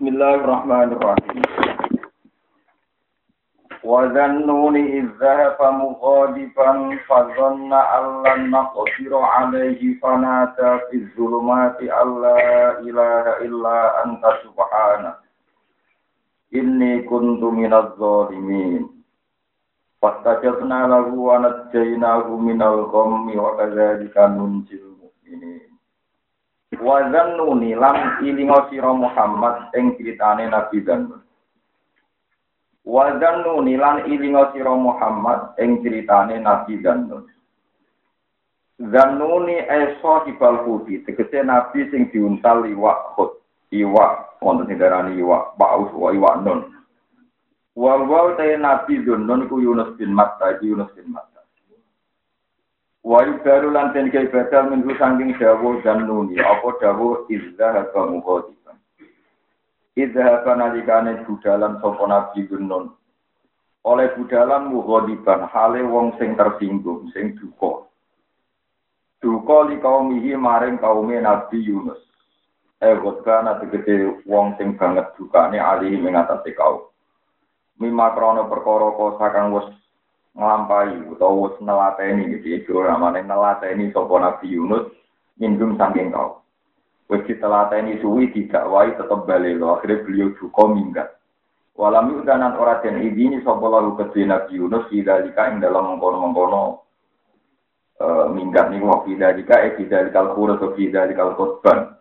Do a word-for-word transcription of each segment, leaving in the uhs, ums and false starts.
Bismillahirrahmanirrahim. Wa dhannuni idh dhahaba mughadiban fa dhanna an lan naqdiru alayhi fanada fi dhulumati alla ilaha illa anta subhanaka inni kuntu minadh dhalimin. Fastajabna lahu wa najjaynahu minal ghammi wa kadzalika nunjil mu'minin. Wa dhannuni lan ilinga sira Muhammad ing critane Nabi Dzannun. Wa dhannuni lan ilinga sira Muhammad ing critane Nabi Dzannun. Dhannuni esa hibal hudi tegese nabi sing diuntal iwak khut. Iwak wonten sing darani iwak paus wa iwak nun. Wa wa ta nabi Dzannun ku Yunus bin Matta, Yunus bin Matta. Wa yubaru lan ten kaya badal minggu sangking dawuh Dzannuni apa dawuh izhaba mughadiban. Izhaba nalikane budalan sapa nabi Dzannun. Oleh budalan mughadiban hale wong sing tersinggung, sing duka. Duka li kaumihi maring kaume Nabi Yunus. Eh wadana tegese wong sing banget dukane ali ing atase kaum. Mimma krana perkara kosa kang wis nglampahi utawa wis nelateni iki iki ora maneh nelateni sapa Nabi Yunus minggum saking kau. Wis ditelateni suwi didakwai tetep bali lho akhire beliau duka minggat. Walam yudanan ora den idini sapa lalu kedhe Nabi Yunus sidalika ing dalam mengkono-mengkono e, minggat niku wa sidalika e sidalikal khurus wa sidalikal qutban.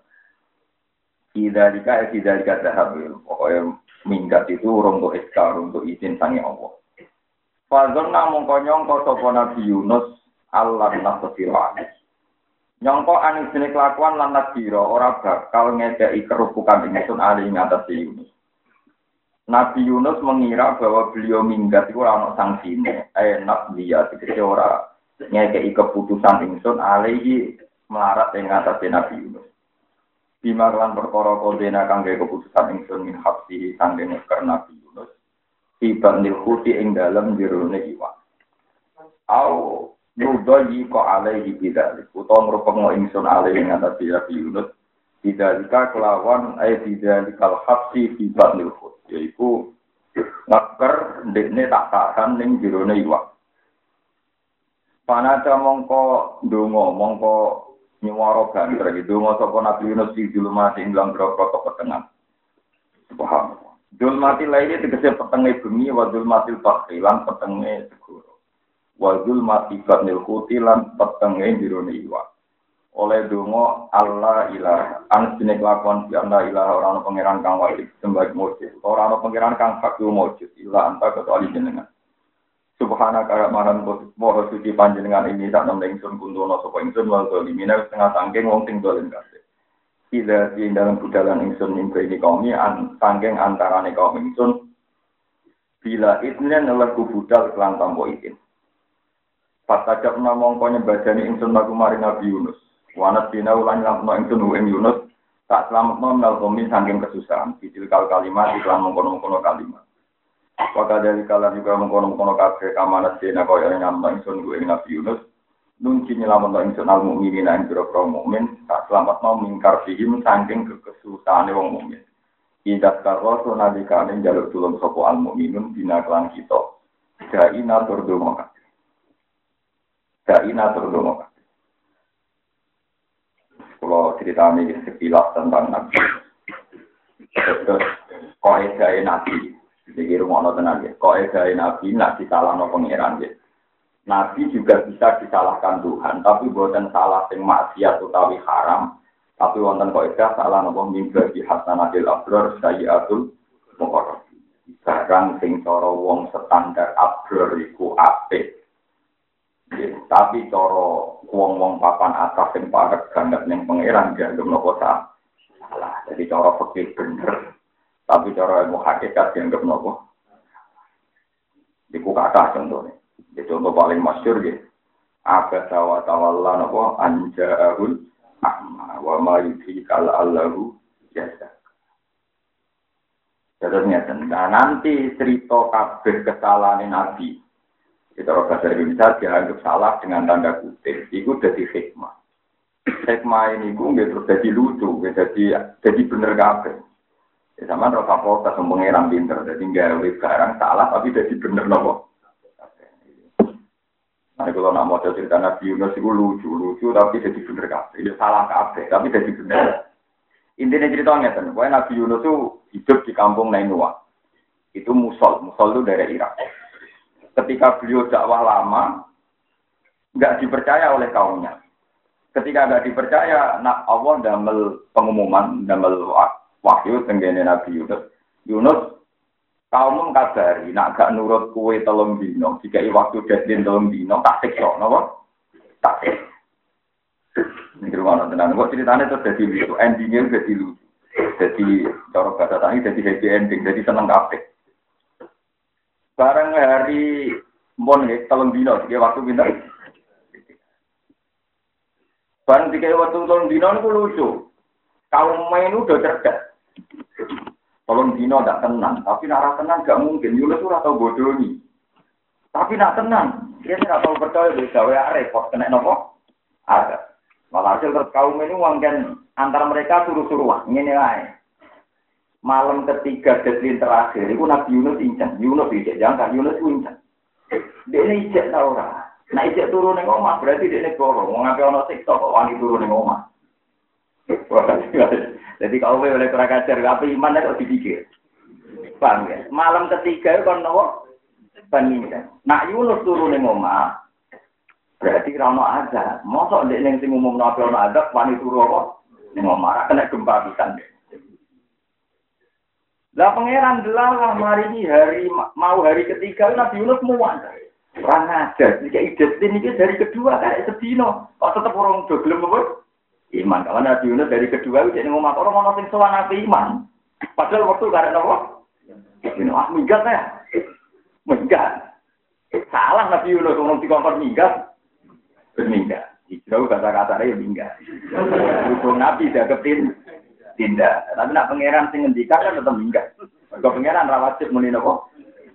Sidalika e sidalika dahab pokoke minggat itu urung untuk iskar untuk izin sange Allah. Fadzon namung konyongko sapa Nabi Yunus Allah nasfira. Nyongko aning jeneng kelakuan lan nasira ora bakal ngedeki kerupukan ingsun ali ing atas Yunus. Nabi Yunus mengira bahwa beliau minggat itu ora ono sanksine, enak dia tegese ora ngedeki keputusan ingsun ali melarat ing atas Nabi Yunus. Bima lan perkara kodena kangge keputusan ingsun min habsi kangge ngeker Nabi Yunus. Tiba nilhuti ing dalam jerone iwak. Au nudoyi ko alaihi bidalik. Utawa ngrupeng ingsun alaihi ing atas Nabi Yunus. Bidalika kelawan ay bidalikal habsi tiba nilhut. Yaitu ngeker ndekne tak tahan ning jerone iwak. Panada mongko ndonga mongko nyuwara banter gitu ndonga sapa Nabi Yunus di julumati ing dalam grogro petengah. Subhanallah. Dul mati lainnya tegese petenge bumi wa dul mati bakri lan petenge segoro. Wa dul mati batnil khuti lan petenge jirone iwak. Oleh donga Allah ilaha an sine lakon bi Allah ilaha ora ana pangeran kang wajib sembah mujud. Ora ana pangeran kang fakir mujud illa anta kecuali jenengan. Subhanaka maran moho suci panjenengan ini sak nang ingsun kuntono sapa ingsun wal zalimina setengah sangking wong sing dolen kabeh. Tidak di dalam budalan ingsun mimpi ini kaum ini an, sangking antarane kaum ingsun bila itnen adalah kubudal kelan tampo itin pas tajab namong konya badani ingsun lagu mari Nabi Yunus wanat bina ulang lampno ingsun uing Yunus tak selamat mengenal komi sangking kesusahan kecil kal kalimat iklan mengkono-mengkono kalimat wakil dari kalian juga mengkono-mengkono kabeh kamanat bina kaya nyamno ingsun uing Nabi Yunus nunci nyelamat ingsun al mukminin ing pira-pira mukmin tak selamat mau mingkar fihim saking kekesusahane wong mukmin. Idat karo nalikane njaluk tulung sapa al mukminun dina kelan kita. Daina tur donga kabeh. Daina tur donga kabeh. Kalau ceritane sekilas tentang Nabi. Terus kaidah Nabi. Iki rumono tenan nggih. Kaidah Nabi nek disalahno pangeran nggih. Nabi juga bisa disalahkan Tuhan, tapi bukan salah sing maksiat utawi haram, tapi wonten kaidah salah napa mimba di hasanatil abrar sayyiatul muqarrab. Barang sing cara wong standar abrar iku apik. Tapi cara wong-wong papan atas sing parek banget ning pangeran dianggep napa salah. Jadi cara fikih bener, tapi cara ilmu hakikat dianggep napa. Iku kata contohnya. Itu contoh paling masyhur ya. Abasa wa tawalla napa anja'ul a'ma wa ma yudhikal allahu jasa. Terusnya nah, nanti cerita kabeh kesalahan Nabi. Kita orang bahasa Indonesia dianggap salah dengan tanda kutip. Itu jadi hikmah. Hikmah ini itu nggak terus jadi lucu, jadi jadi bener kabeh. Ya sama rasa protes pengeran pinter, jadi gawe barang salah tapi jadi bener nopo. Nah, kalau nak mau cerita Nabi Yunus itu lucu, lucu tapi jadi bener kabeh. Itu salah kabeh, tapi jadi bener. Intinya ceritanya kan, bahwa Nabi Yunus itu hidup di kampung Nainua. Itu Musol, Musol itu dari Irak. Ketika beliau dakwah lama, nggak dipercaya oleh kaumnya. Ketika nggak dipercaya, nak Allah damel pengumuman, damel wahyu tenggene Nabi Yunus. Yunus kaum kabari, nak gak nurut kue telung dino, jika waktu deadline telung dino, tak siksa, nopo? Tak siksa. Ini rumah tenan, kok ceritanya itu jadi lucu, endingnya jadi lucu. Jadi, cara bahasa tani jadi happy ending, jadi seneng kabeh. Bareng hari mon nih, telung dino, jika waktu pinter. Bareng jika waktu telung dino itu lucu. Kaum main udah cerdas. Tolong dino tidak tenang, tapi nak tenang gak mungkin. Yunus itu atau bodoh nih. Tapi nak tenang, dia tidak tahu percaya bisa wa repot kena nopo. Ada. Malah hasil terus kaum ini uangkan antara mereka suruh-suruh. Ini nih. Malam ketiga deadline terakhir, itu Nabi Yunus incen. Yunus ijek jangan Yunus incen. Dia ini ijek tahu lah. Nah ijek turun ning omah berarti dia ini goro. Mau ngapain ono siksa kok wangi turun ning omah. Jadi kalau boleh kurang ajar, apa iman itu dipikir. Paham ya? Malam ketiga itu kan nopo penginjak. Nak Yunus turun ning omah, berarti rano ada. Mosok ndek ning sing umum nabi ono ada, wani turu apa? Ning omah kena gempa pisan. Lah pangeran delalah mari ini hari mau hari ketiga Nabi Yunus muwan. Ora ngajar, iki ide ini dari kedua kayak sedino. Kok tetep orang do gelem apa? Iman, kalau Nabi Yunus dari kedua itu jadi ngomong orang orang sing sowan Nabi iman. Padahal waktu karena apa? Ini ah minggat ya, minggat. Salah Nabi Yunus ngomong di kompor minggat, berminggat. Jauh kata-kata dia minggat. Hukum Nabi dianggapin tindak. Tapi nak pangeran sing ngendikan kan tetap minggat. Kalau pangeran rawatib muni apa?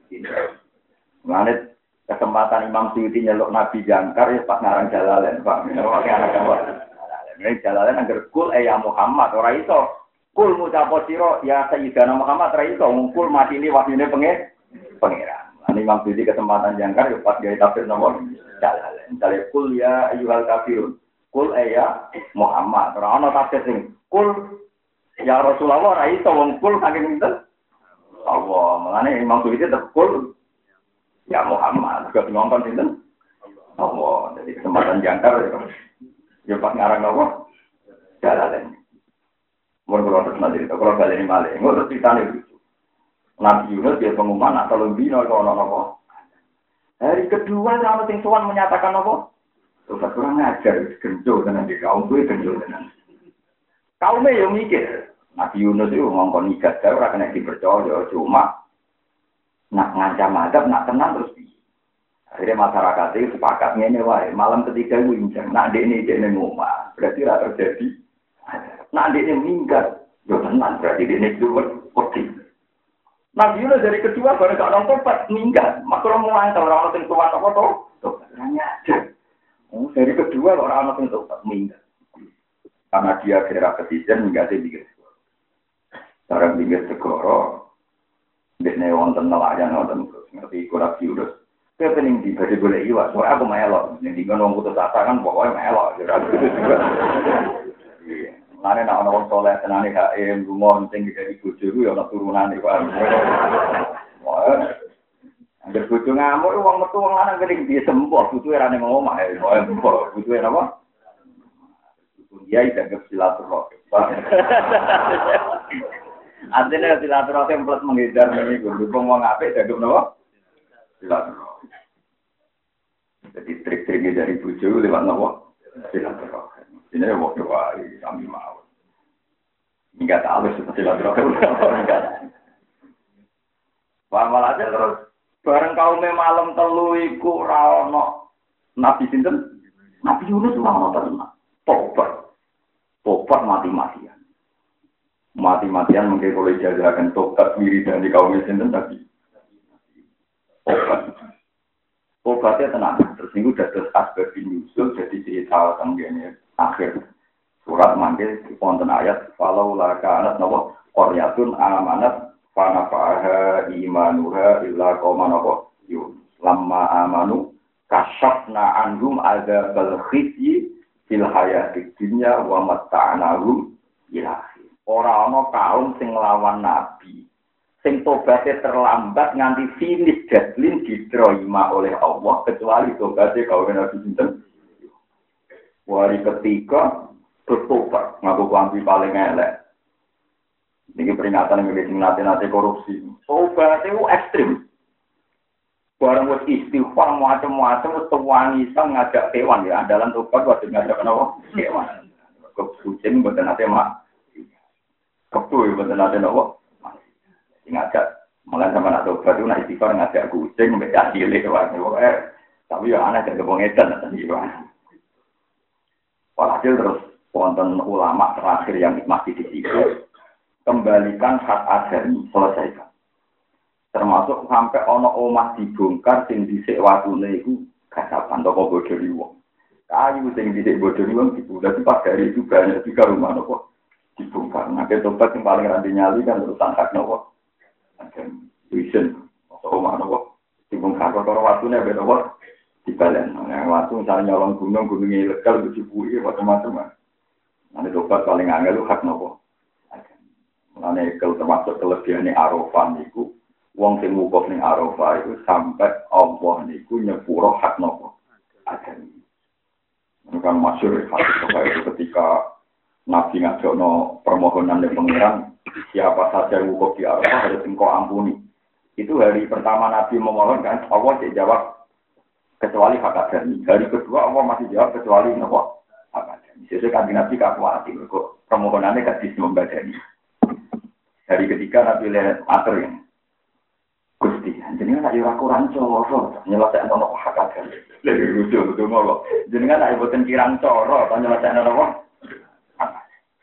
Mengenai kesempatan Imam Suyuti nyeluk Nabi jangkar ya pas ngarang Jalalain, Pak. Pakai anak gambar. Ini Jalalain anggar kul eh ya Muhammad ora iso. Kul ngucapo sira ya Sayyidina Muhammad ora iso ngkul mati ini wahyune pengen pangeran. Ini Imam Suyuti kesempatan jangkar ya pas gawe tafsir nomor Jalalain. Misalnya kul ya ayyuhal kafirun. Kul eh ya Muhammad ora ana tafsir sing kul ya Rasulullah ora iso ngkul saking pinten. Allah, mengenai Imam Suyuti tekul ya Muhammad, juga ngomong sinten. Allah, jadi kesempatan jangkar ya. Ya pas ngarang apa? Jalalan. Mun kula terus nanti kalau baleni malih, engko terus ditane lucu. Nabi Yunus dia pengumuman nak telung dino kok ono apa? Hari kedua sama sing sowan menyatakan apa? Terus kurang ngajar, genjo tenan di kaum kuwi genjo tenan. Kaume yo mikir, Nabi Yunus itu ngomong nigat, saya ora kena dipercaya, cuma nak ngancam adab, nak tenang terus di. Akhirnya masyarakat itu sepakat ngene wae, malam ketiga itu inceng, nak dekne dekne ngomah, berarti ora terjadi. Nak dekne minggat, yo tenang berarti dekne itu wedi. Nabi Yunus dari kedua baru gak nonton pas minggat, makro mau antar orang sing tuwa apa to? Tuh, nanya aja. Oh, dari kedua orang sing tuwa minggat. Karena dia kira ketijen enggak sih pikir. Cara pikir segoro, dekne wonten nelayan wonten ngerti kurang diurus. Saya pening di baju boleh iwas, soalnya aku melok. Yang tinggal orang putus asa kan pokoknya melok. Lainnya nak orang soleh tenani H M, rumah penting dari bojoku ya orang turunan itu. Angger bojo ngamuk wong metu wong lanang kening dia sembuh, butuhe ra ning omah ya. Butuhe apa? Dia tidak silaturahim. Artinya silaturahim plus menghindar ini gue dukung mau ngapain jadi apa? Silaturahim. Jadi trik-triknya dari buju lewat apa? Silaturahim. Ini waktu wali kami mau. Enggak tahu seperti silaturahim. Malah aja terus bareng kaum malam telu iku ra ono Nabi sinten? Nabi Yunus ora ono tobat. Tobat mati-matian. Mati-matian mungkin kalau dijajarkan tobat diri dan di kaum Islam tadi. Tobat. Tobatnya tenang. Terus ini udah terus asbab nyusul jadi cerita tentang akhir surat manggil konten ayat falau laka anak nawa Qaryatun amanat fa nafa'aha imanuha illa qauman apa yun. Lamma amanu kasyafna anhum adzabal khizyi fil hayatid dunya wa matta'nahum ila akhir. Ora ana kaum sing nglawan nabi. Sing tobaté terlambat nganti finish deadline diterima oleh Allah kecuali tobaté kaum nabi sinten. Wari ketiga bertobat ngaku klambi paling elek. Ini peringatan yang lebih nate-nate korupsi. Tobat itu ekstrim. Barang wis istighfar macam-macam wis tuwani sang ngajak hewan ya andalan tobat wajib ngajak kenapa? Hewan. Kucing mboten nate mak. Kepu mboten nate napa? Ngajak malah sama nak tobat itu nak istighfar ngajak kucing mbek cilik wae. Tapi ya aneh jadi wong edan tadi wae. Walhasil terus wonten ulama terakhir yang masih di situ kembalikan hak adami selesaikan. Termasuk sampai ono omah dibongkar sing dhisik watune iku kasapan toko bodoni wong. Kayu sing dhisik bodoni wong dibongkar pas dari itu banyak juga rumah nopo dibongkar. Nah, tobat yang paling ranti nyali kan urusan hak nopo. Ada vision atau omah nopo dibongkar karo watune ben nopo dibalen. Nah, waktu misalnya nyolong gunung gunung ilegal dicipui macam-macam. Nanti tobat paling angel hak nopo. Mulane kalau termasuk kelebihan Arafah niku wong sing wukuf ning Arafah itu sampai Allah niku nyepuro hak nopo adami. Ini kan masyhur hadis itu ketika Nabi ngajono permohonan dari pangeran siapa saja yang wukuf di Arafah harus engkau ampuni. Itu hari pertama Nabi memohon kan Allah tidak jawab kecuali hak adami. Hari kedua Allah masih jawab kecuali nopo hak adami. Sesuai kan Nabi kakuati kok permohonannya gak disembadani. Hari ketiga Nabi lihat mater yang Gusti, jenengan nak ora kurang coro, nyelesaikan ono hak adami. Lha lucu betul kok. Jenengan nak boten kirang coro, nyelesaikan ono apa?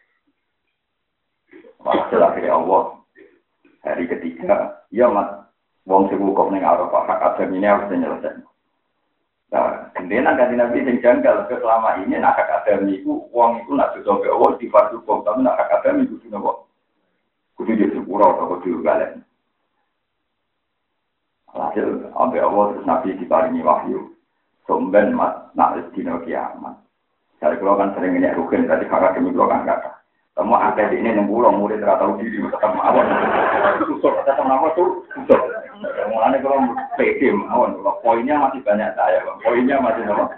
Masalah dari Allah. Hari ketiga, ya mat wong sing wukuf ning Arafah hak adami ini harus nyelesaikan. Nah, kemudian kan Nabi sing janggal selama ini nak hak adami iku wong iku nak dosa ke Allah di fardu hukum, tapi nak hak adami kudu napa? Kudu di sepura atau kudu balen. Hasil ambil Allah terus Nabi diparingi wahyu. Somben mat nak dino kiamat. Saya kalau kan sering ini rugen tadi kakak demi kalau kan kata. Kamu ada di ini enam bulan murid tahu diri tetap mawon. Susur tetap nama tuh susur. Mulanya kalau P D mawon. Poinnya masih banyak saya. Poinnya masih nama.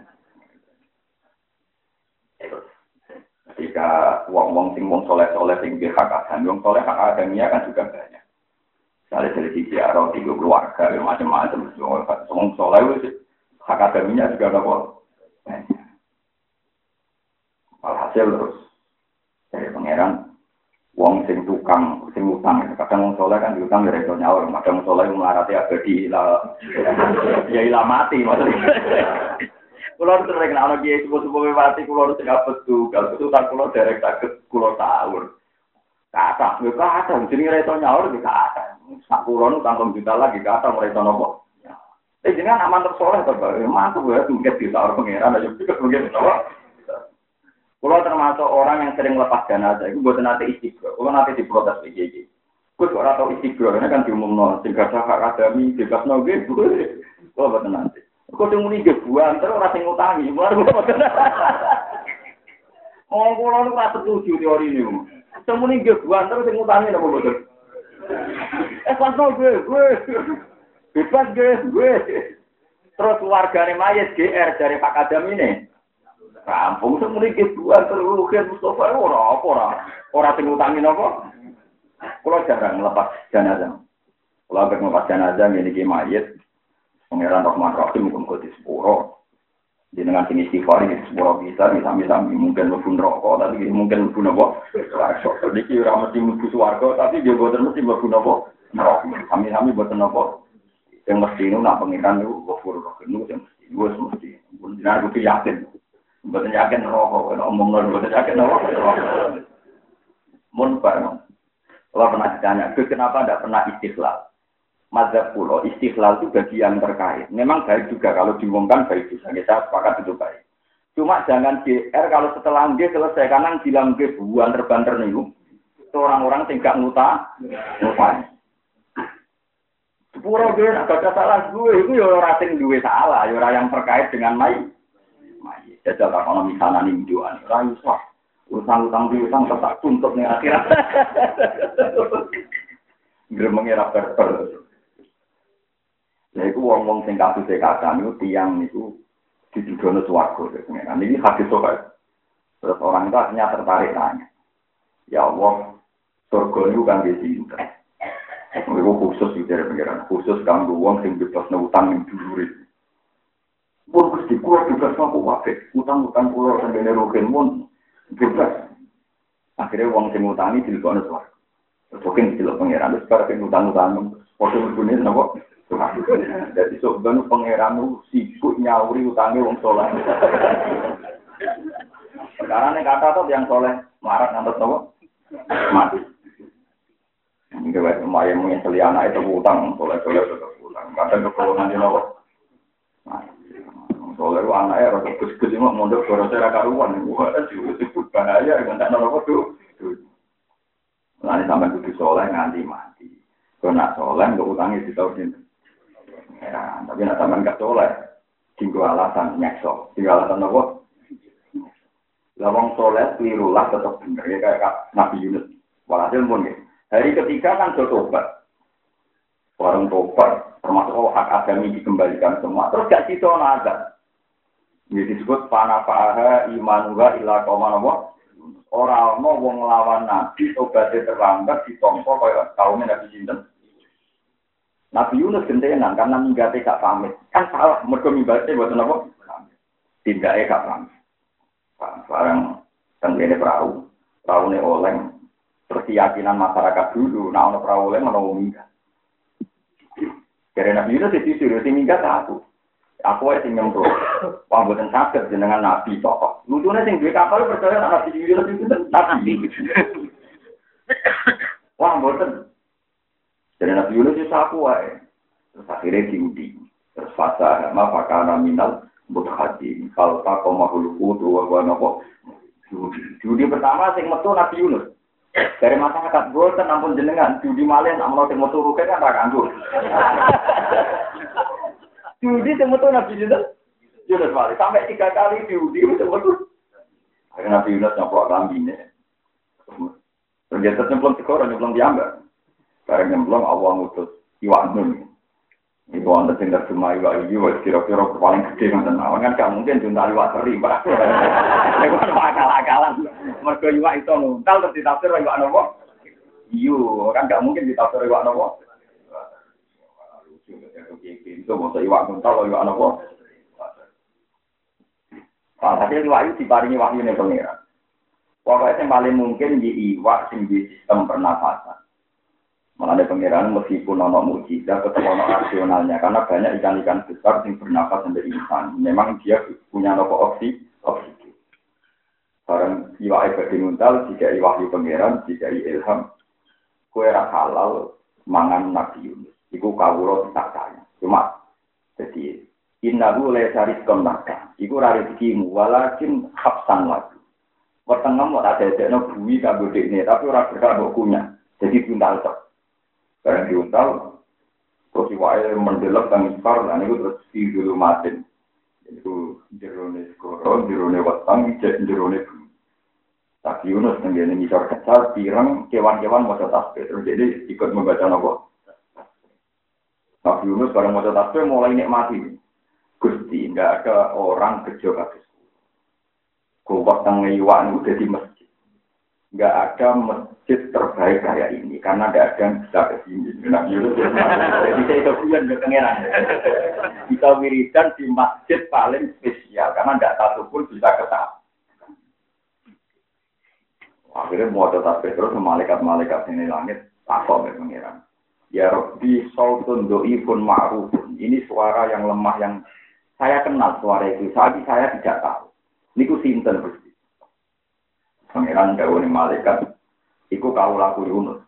Ketika wong-wong sing wong soleh-soleh sing hak adami, wong soleh hak adaminya kan juga banyak. Misalnya dari sisi arah tiga keluarga, macam-macam. Wong soleh itu hak adaminya juga ada banyak. Alhasil terus dari pangeran, wong sing tukang, sing utang. Kadang wong soleh kan diutang dari itu nyawa. Kadang wong soleh melarati abadi, ya ilah mati maksudnya. Kulo sering ana kiai sepuh-sepuh mati kulo sing betul, kalau betul tak kulo derek saged kulo sahur. Kata, yo kata jenenge reto nyaur iki kata. Sak kulo nu tanggung juta lagi kata reto nopo. Eh jenengan aman tersoleh to, Pak. Mantu gue mungkin di sahur pangeran aja pikir mungkin nopo. Kulo termasuk orang yang sering lepas jenazah, iku mboten nate istighfar. Kulo nate diprotes iki iki. Kus ora tau istighfar, karena kan diumumno sing gak hak adami bebasno nggih. Kulo mboten nate. Kok sing muni gebuan terus ora sing ngutangi. Mulane kula mboten. Oh, kula nu ora setuju teori niku. Sing muni gebuan terus sing ngutangi napa mboten? Eh, pasno gue, gue. Bebas gue, gue. Terus keluargane mayit G R dari Pak Kadam ini. Kampung sing muni gebuan terus Rugen Mustofa ora apa ora. Ora sing ngutangi napa? Kula jarang lepas jenazah. Kula ambek lepas jenazah ngene iki mayit. Pangeran Rahman Rahim muga-muga di sepuro. Jenengan sing istighfar iki sepuro bisa sami-sami mungkin mlebu neraka tapi mungkin mlebu napa? Swarga. Iki ora mesti mlebu swarga tapi dia boten mesti mlebu napa? Neraka. Sami-sami boten napa? Yang mesti nu nak pangeran niku ghafur rahim niku yang mesti wis mesti. Mun jenengan kudu yakin. Boten yakin neraka, omong lho boten yakin neraka. Mun bareng. Kalau pernah ditanya, kenapa tidak pernah istiqlal? Mazhab pulau istiqlal itu bagian terkait. Memang baik juga kalau diumumkan baik juga. Saya sepakat itu baik. Cuma jangan G R kalau setelah G selesai kanan bilang G buan terbanter nih. Itu orang-orang yang gak ngutang, ngutang. Sepuro gue, gak ada salah gue, itu ya orang yang gue salah, ya orang yang terkait dengan mai. Mai, jajal ekonomi sana nih jualan, orang usah. Utang-utang di utang tetap tuntut nih akhirat. Gremengnya rapper-rapper. Ya itu wong-wong sing kasus sekatan itu tiang itu didudono swarga. Nah ini hadis soal. Terus orang itu akhirnya tertarik nanya. Ya Allah, surga itu kan di sini. Itu khusus di daerah pengiran. Khusus kanggo wong sing bebas utang yang dulurit. Pun Gusti kula juga sama wae. Utang-utang kula sampeyan rugen mun bebas. Akhirnya wong sing ngutangi dilebokno swarga. Terus mungkin dilebok pengiran terus bar ping utang-utang padha mlebune napa? Jadi sebenarnya pengiranmu sibuk nyauri utangnya wong soleh. Sekarang ini kata tuh yang soleh marat ngantos napa? Mati. Ini kayak lumayan menyesali anak itu utang, soleh-soleh tetap utang. Kadang keperluan di napa? Soleh itu anaknya rada gus-gus ini mondok gara cara karuan. Wah, itu disebut bahaya enggak napa tuh. Nah, sampai kudu soleh nganti mati. Kalau nak soleh enggak utangnya ditausin. Ya, tapi nak sampai enggak soleh, tinggal alasan nyekso. Tinggal alasan apa? Lawang soleh kelirulah tetap benar ya kayak Nabi Yunus. Walhasil pun ya. Hari ketiga kan bertobat. Orang tobat termasuk hak agami dikembalikan semua. Terus gak cito nazar. Ini disebut panafaha imanuha ila qaumanawa. Orang mau wong lawan Nabi tobatnya terlambat ditompo kaya kaum Nabi sinten. Nabi Yunus gentenan karena minggatnya gak pamit. Kan salah mergo minggatnya buat apa? Tindaknya gak pamit. Barang tenggene perahu, perahu ini oleng, terus keyakinan masyarakat dulu, nah ono perahu oleng ono minggat. Karena Nabi Yunus itu suruh si minggat aku, aku aja nyemplung, pambutan sakit jenengan Nabi tokoh. Lucunya sing duwe kapal percaya Nabi Yunus itu Nabi. Wah, mboten. Jadi Nabi Yunus itu aku aja. Terus akhirnya diundi, terus fasa ma fakana minal Bukhari, kalau tak kau mahul kudu, wah nopo. Judi pertama sing metu Nabi Yunus. Dari masyarakat boten ampun jenengan, judi malen amal sing metu ruke kan ra kanggo. Judi sing metu Nabi Yunus. Yunus malen sampai tiga kali judi sing metu. Akhirnya Nabi Yunus nyoplok lambine. Ternyata nyemplung segoro nyemplung diambil. Bareng nyemplung Allah ngutus iwak nun. Itu anda tinggal cuma iwak ini, wah kira-kira paling gede nonton awan kan gak mungkin junta iwak seri, pak. Itu kan akal-akalan. Mergo iwak itu nuntal terus ditafsir iwak nopo. Iyo, kan gak mungkin ditafsir iwak nopo. Itu maksud iwak nuntal iwak nopo. Nah, tapi iwak itu diparingi wahyu nih pengira. Pokoknya yang paling mungkin di iwak sing di sistem pernafasan. Malah ada pengiran meskipun ono mujizat tetap ono rasionalnya karena banyak ikan-ikan besar yang bernafas menjadi insan. Memang dia punya nopo oksi, oksigen. Barang iwak ibadi nguntal, jika iwahyu pengiran, jika ilham, kue halal mangan Nabi Yunus. Iku kawula tak kaya. Cuma jadi innahu la rizqan laka. Iku ra rezekimu walakin habsan lagi. Wetengem ora dadekno bumi kanggo dekne, tapi ora berkah mbok kunyah. Jadi buntal tok. Barang diuntal, terus iwake mendelep kang ispar, lan iku terus di dulu matin. Itu jerone skoro, jerone weteng, jerone bumi. Tapi Yunus tenggene ngisor kecal, pirang kewan-kewan maca tasbih. Terus jadi ikut membaca nopo. Tapi Yunus bareng maca tasbih mulai nikmati. Gusti, enggak ada orang kerja kabeh. Kuwat teng iwak niku dadi masjid. Enggak ada masjid terbaik kayak ini karena enggak ada yang bisa ke sini. Nah, Yunus jadi saya itu punya ketengeran. Kita wiridan di masjid paling spesial karena enggak satu pun bisa ke sana. Akhirnya mau tetap terus malaikat-malaikat ini langit takut ya pengiran. Ya Rabbi sautun do'ifun ma'rufun. Ini suara yang lemah yang saya kenal suara itu. Saat saya tidak tahu. Niku sinten Gusti. Pengiran dawuh ni malaikat iku kawula Yunus.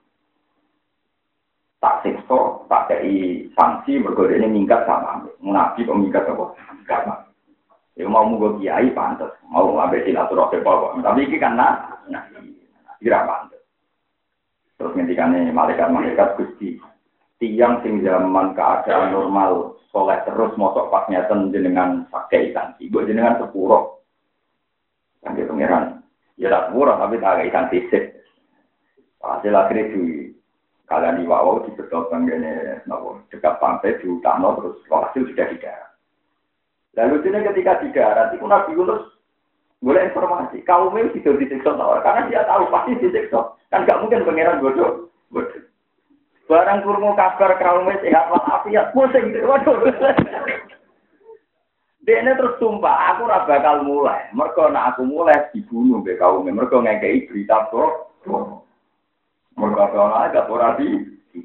Tak siksa, tak kei sanksi mergo dene minggat sama. Nabi kok minggat apa? Enggak. Ya mau mugo kiai pantes, mau ambek silaturahmi bawa. Tapi iki kan nah, nah kira pantes. Terus ngendikane malaikat-malaikat Gusti, tiang sing zaman keadaan normal soleh terus mosok pas ngeten jenengan pakai ikan ibu jenengan sepuro. Kan dia pangeran. Ya tak sepuro tapi tak ikan sisik. Hasil akhirnya di kalian di wawau di bertopang gini, nopo dekat pantai di utano terus hasil sudah di darat. Lalu ini ketika di darat itu Nabi Yunus boleh informasi, kaumnya tidak disiksa karena dia tahu pasti disiksa. Kan gak mungkin pangeran bodoh. Bodoh. Barang kurma kabar kaumnya sehat walafiat, pusing itu. Waduh. Dia ini terus sumpah, aku ora bakal mulai. Mergo nek aku mulai dibunuh be kaumnya. Mergo ngekei berita kok. Mergo ana gak ora di.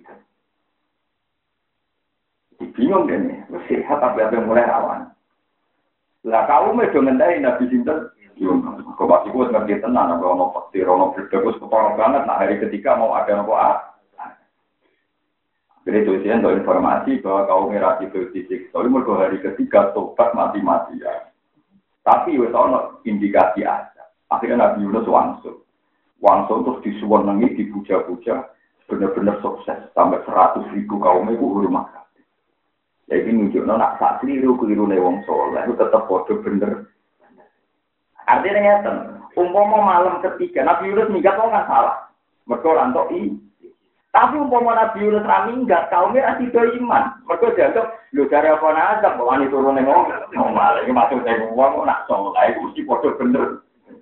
Bingung dene, sehat tapi apa mulai awan. Lah kaumnya do ngendai Nabi sinten? Kok pasti gue ngerti tenang, apa mau pasti rono berdekus kepala banget. Nah hari ketiga mau ada nopo ah. Jadi tujuan untuk informasi bahwa kaum merah itu fisik. Tapi mereka hari ketiga tobat mati-mati ya. Tapi wes ono indikasi aja. Akhirnya Nabi Yunus wangsul, wangsul terus disuwenengi, dipuja-puja, benar-benar sukses sampai seratus ribu kaum itu hormat. Jadi nunjukno nak sak keliru keliru nih wong soleh itu tetap bodoh bener. Artinya ngeten, umpama malam ketiga Nabi Yunus minggat kok kan salah. Mergo rantok i. Tapi umpama Nabi Yunus ra minggat, kaumnya ra sida iman. Mergo dianggap lho dari apa nazar kok wani turun ning wong. Malah iki maksude wong nak saleh mesti padha bener.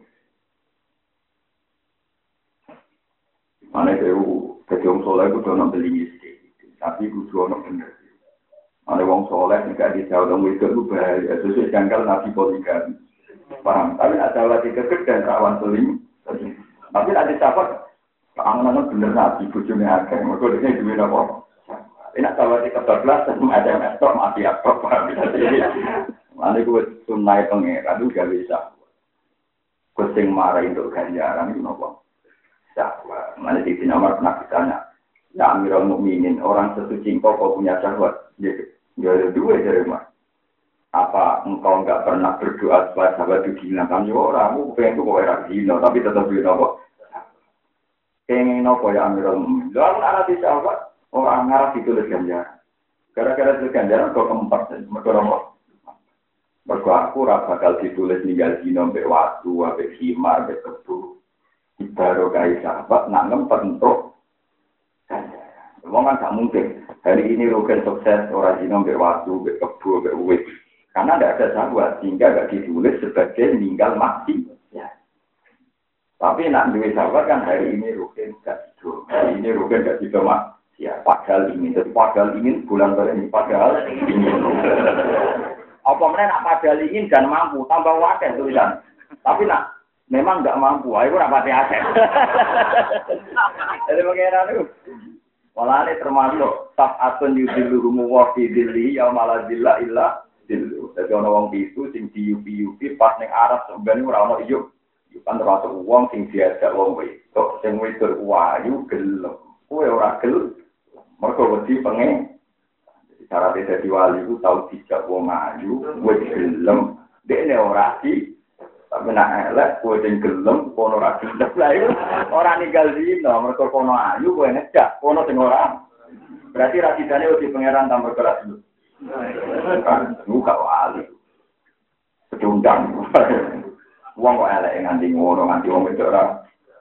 Ana dewe dadi wong saleh kudu ana beli tapi kudu ana bener. Ana wong saleh nek dijauh wong itu bahaya, sesuk janggal Nabi poligami. Paham, tapi ada lagi kekeh dan rawan seling. Tapi ada sahabat, keamanan bener nabi, bujurnya agak. Mereka ini duit apa? Ini sahabat di kebablasan, ada mestok, mati apa, paham. Nanti gue sunai pengeran, itu gak bisa. Kusing marah untuk ganjaran, itu apa? Syahwat. Nanti di sini Umar pernah ditanya, ya Amirul Mukminin, orang sesuci kau kau punya syahwat. Dia ada dua dari Umar. Apa engkau enggak pernah berdoa supaya sahabat itu dihinakan? Ya orang, aku pengen tuh kau era dihina, tapi tetap dihina kok. Pengen apa ya Amirul Mukminin? Lalu anak di sahabat, orang ngarap ditulis ganjaran. Gara-gara tulis ganjaran kau keempat, mereka apa? Mereka aku bakal ditulis ninggal dihina, sampai waktu, sampai khimar, sampai kebu. Baru kaya sahabat, nak ngempet untuk ganjaran. Memang kan gak mungkin. Hari ini Rugen sukses, orang dihina, sampai waktu, sampai kebu, sampai uwit. Karena tidak ada sahabat, sehingga tidak ditulis sebagai meninggal mati. Ya. Tapi nak duit sahabat kan hari ini Rukin tidak tidur. Hari ini Rukin tidak tidur mak. Ya, padahal ingin. Jadi padahal ingin bulan ini. Padahal ingin. Apa mana nak padahal ingin dan mampu. Tambah wakil tulisan. Tapi nak memang tidak mampu. Ayo rapati aset. Jadi bagaimana itu? Malah ini termasuk. Sab'atun yudilurumu wafidilli ya malah zilla illa. Jadi ana wong pitu sing diupi-upi pas ning Arab sebenarnya ora ono iyo. Kan termasuk wong sing diajak wong wedok sing wedok wayu gelem. Kowe ora gelem. Mergo wedi pengen. Jadi cara dadi wali ku tau dijak wong ayu, kowe gelem. Dekne ora di. Tapi nek elek kowe sing gelem, kono ora gelem. Lah iku ora ninggal dino, mergo kono ayu kowe ngejak, kono sing ora. Berarti rasidane wedi pangeran tambah keras dulu. Buka wali, pecundang. Uang kok elek nganti ngono nganti wong wedok ora.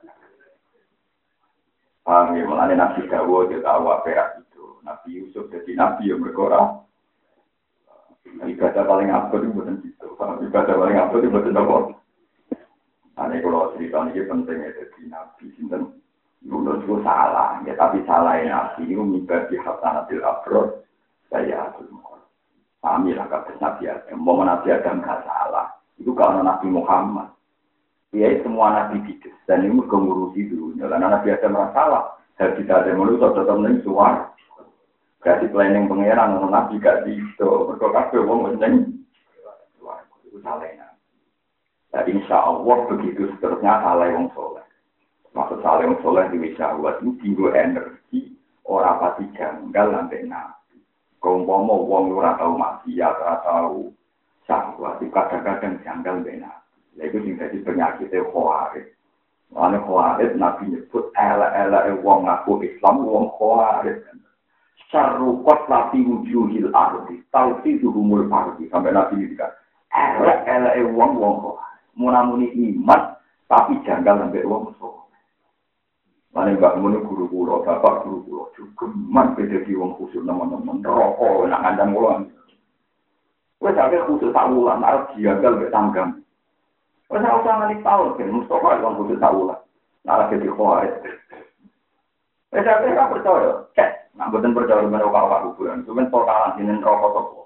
Paham ya, mulane Nabi Dawud ya tahu apa itu. Nabi Yusuf jadi nabi yang berkorah. Ibadah paling abad itu bukan itu. Ibadah paling abad itu bukan apa. Ane kalau cerita ini penting ya jadi nabi. Sinten Yunus itu salah, ya tapi salah nabi itu mengibadi hasanatil abrod. Saya aku kami lah kata Nabi Adam. Mau Nabi Adam nggak salah. Itu kalau Nabi Muhammad. Dia semua Nabi hidup. Dan ini mengurusi dulunya. Karena Nabi Adam merasa salah. Dan kita ada manusia tetap menang suar. Kasih planning pengeran. Nabi gak bisa. Berkata wong menang suar. Itu salahnya. Jadi insya Allah begitu seterusnya salah yang soleh. Maksud salah yang soleh di wisawat itu tinggal energi. Orang pasti janggal sampai nabi. Kaumpama wong ora tau maksiat, ora tau syahwat, kadang-kadang janggal benar. Lha iku sing dadi penyakit khawarij. Ane khawarij Nabi nyebut elek-eleke wong ngaku Islam wong khawarij. Syarruqat lati wujuhil ardi, tauhiduhumul ardi. Sampai Nabi ngendikan, elek-eleke wong wong khawarij. Munamuni iman tapi janggal sampai wong sok. Ane mbak muni guru kula, bapak guru kula juga man beda di wong khusus teman-teman rokok nak ngandang kula. Wes sampe khusus tawulan arep janggal mek tanggam. Wes ora usah ngali taun, ben Mustafa wong khusus tawulan. Nara jadi khawarij. Wes sampe ora percaya, cek, nak mboten percaya menawa kawak kuburan, cuman totalan dinen rokok toko.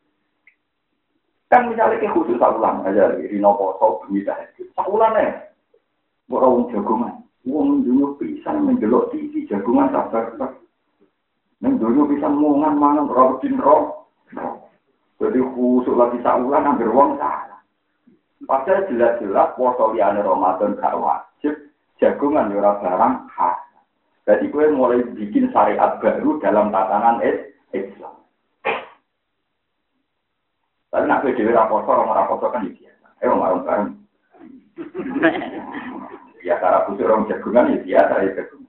Kan misalnya ke khusus tawulan aja di nopo sok bisa. Tawulane. Ora wong jagongan. Wong dunia bisa menjelok T V jagungan sabar sabar. Neng dunia bisa mongan mangan rotin roh. Jadi khusus lagi saulan hampir wong salah. Padahal jelas-jelas poso liyane Ramadan gak wajib, jagungan yo ora barang khas. Jadi gue mulai bikin syariat baru dalam tatanan Islam. Tapi nak dhewe ra poso ora poso kan biasa. Eh orang bareng. Ya cara khusus orang jagungan ya biasa ya jagungan.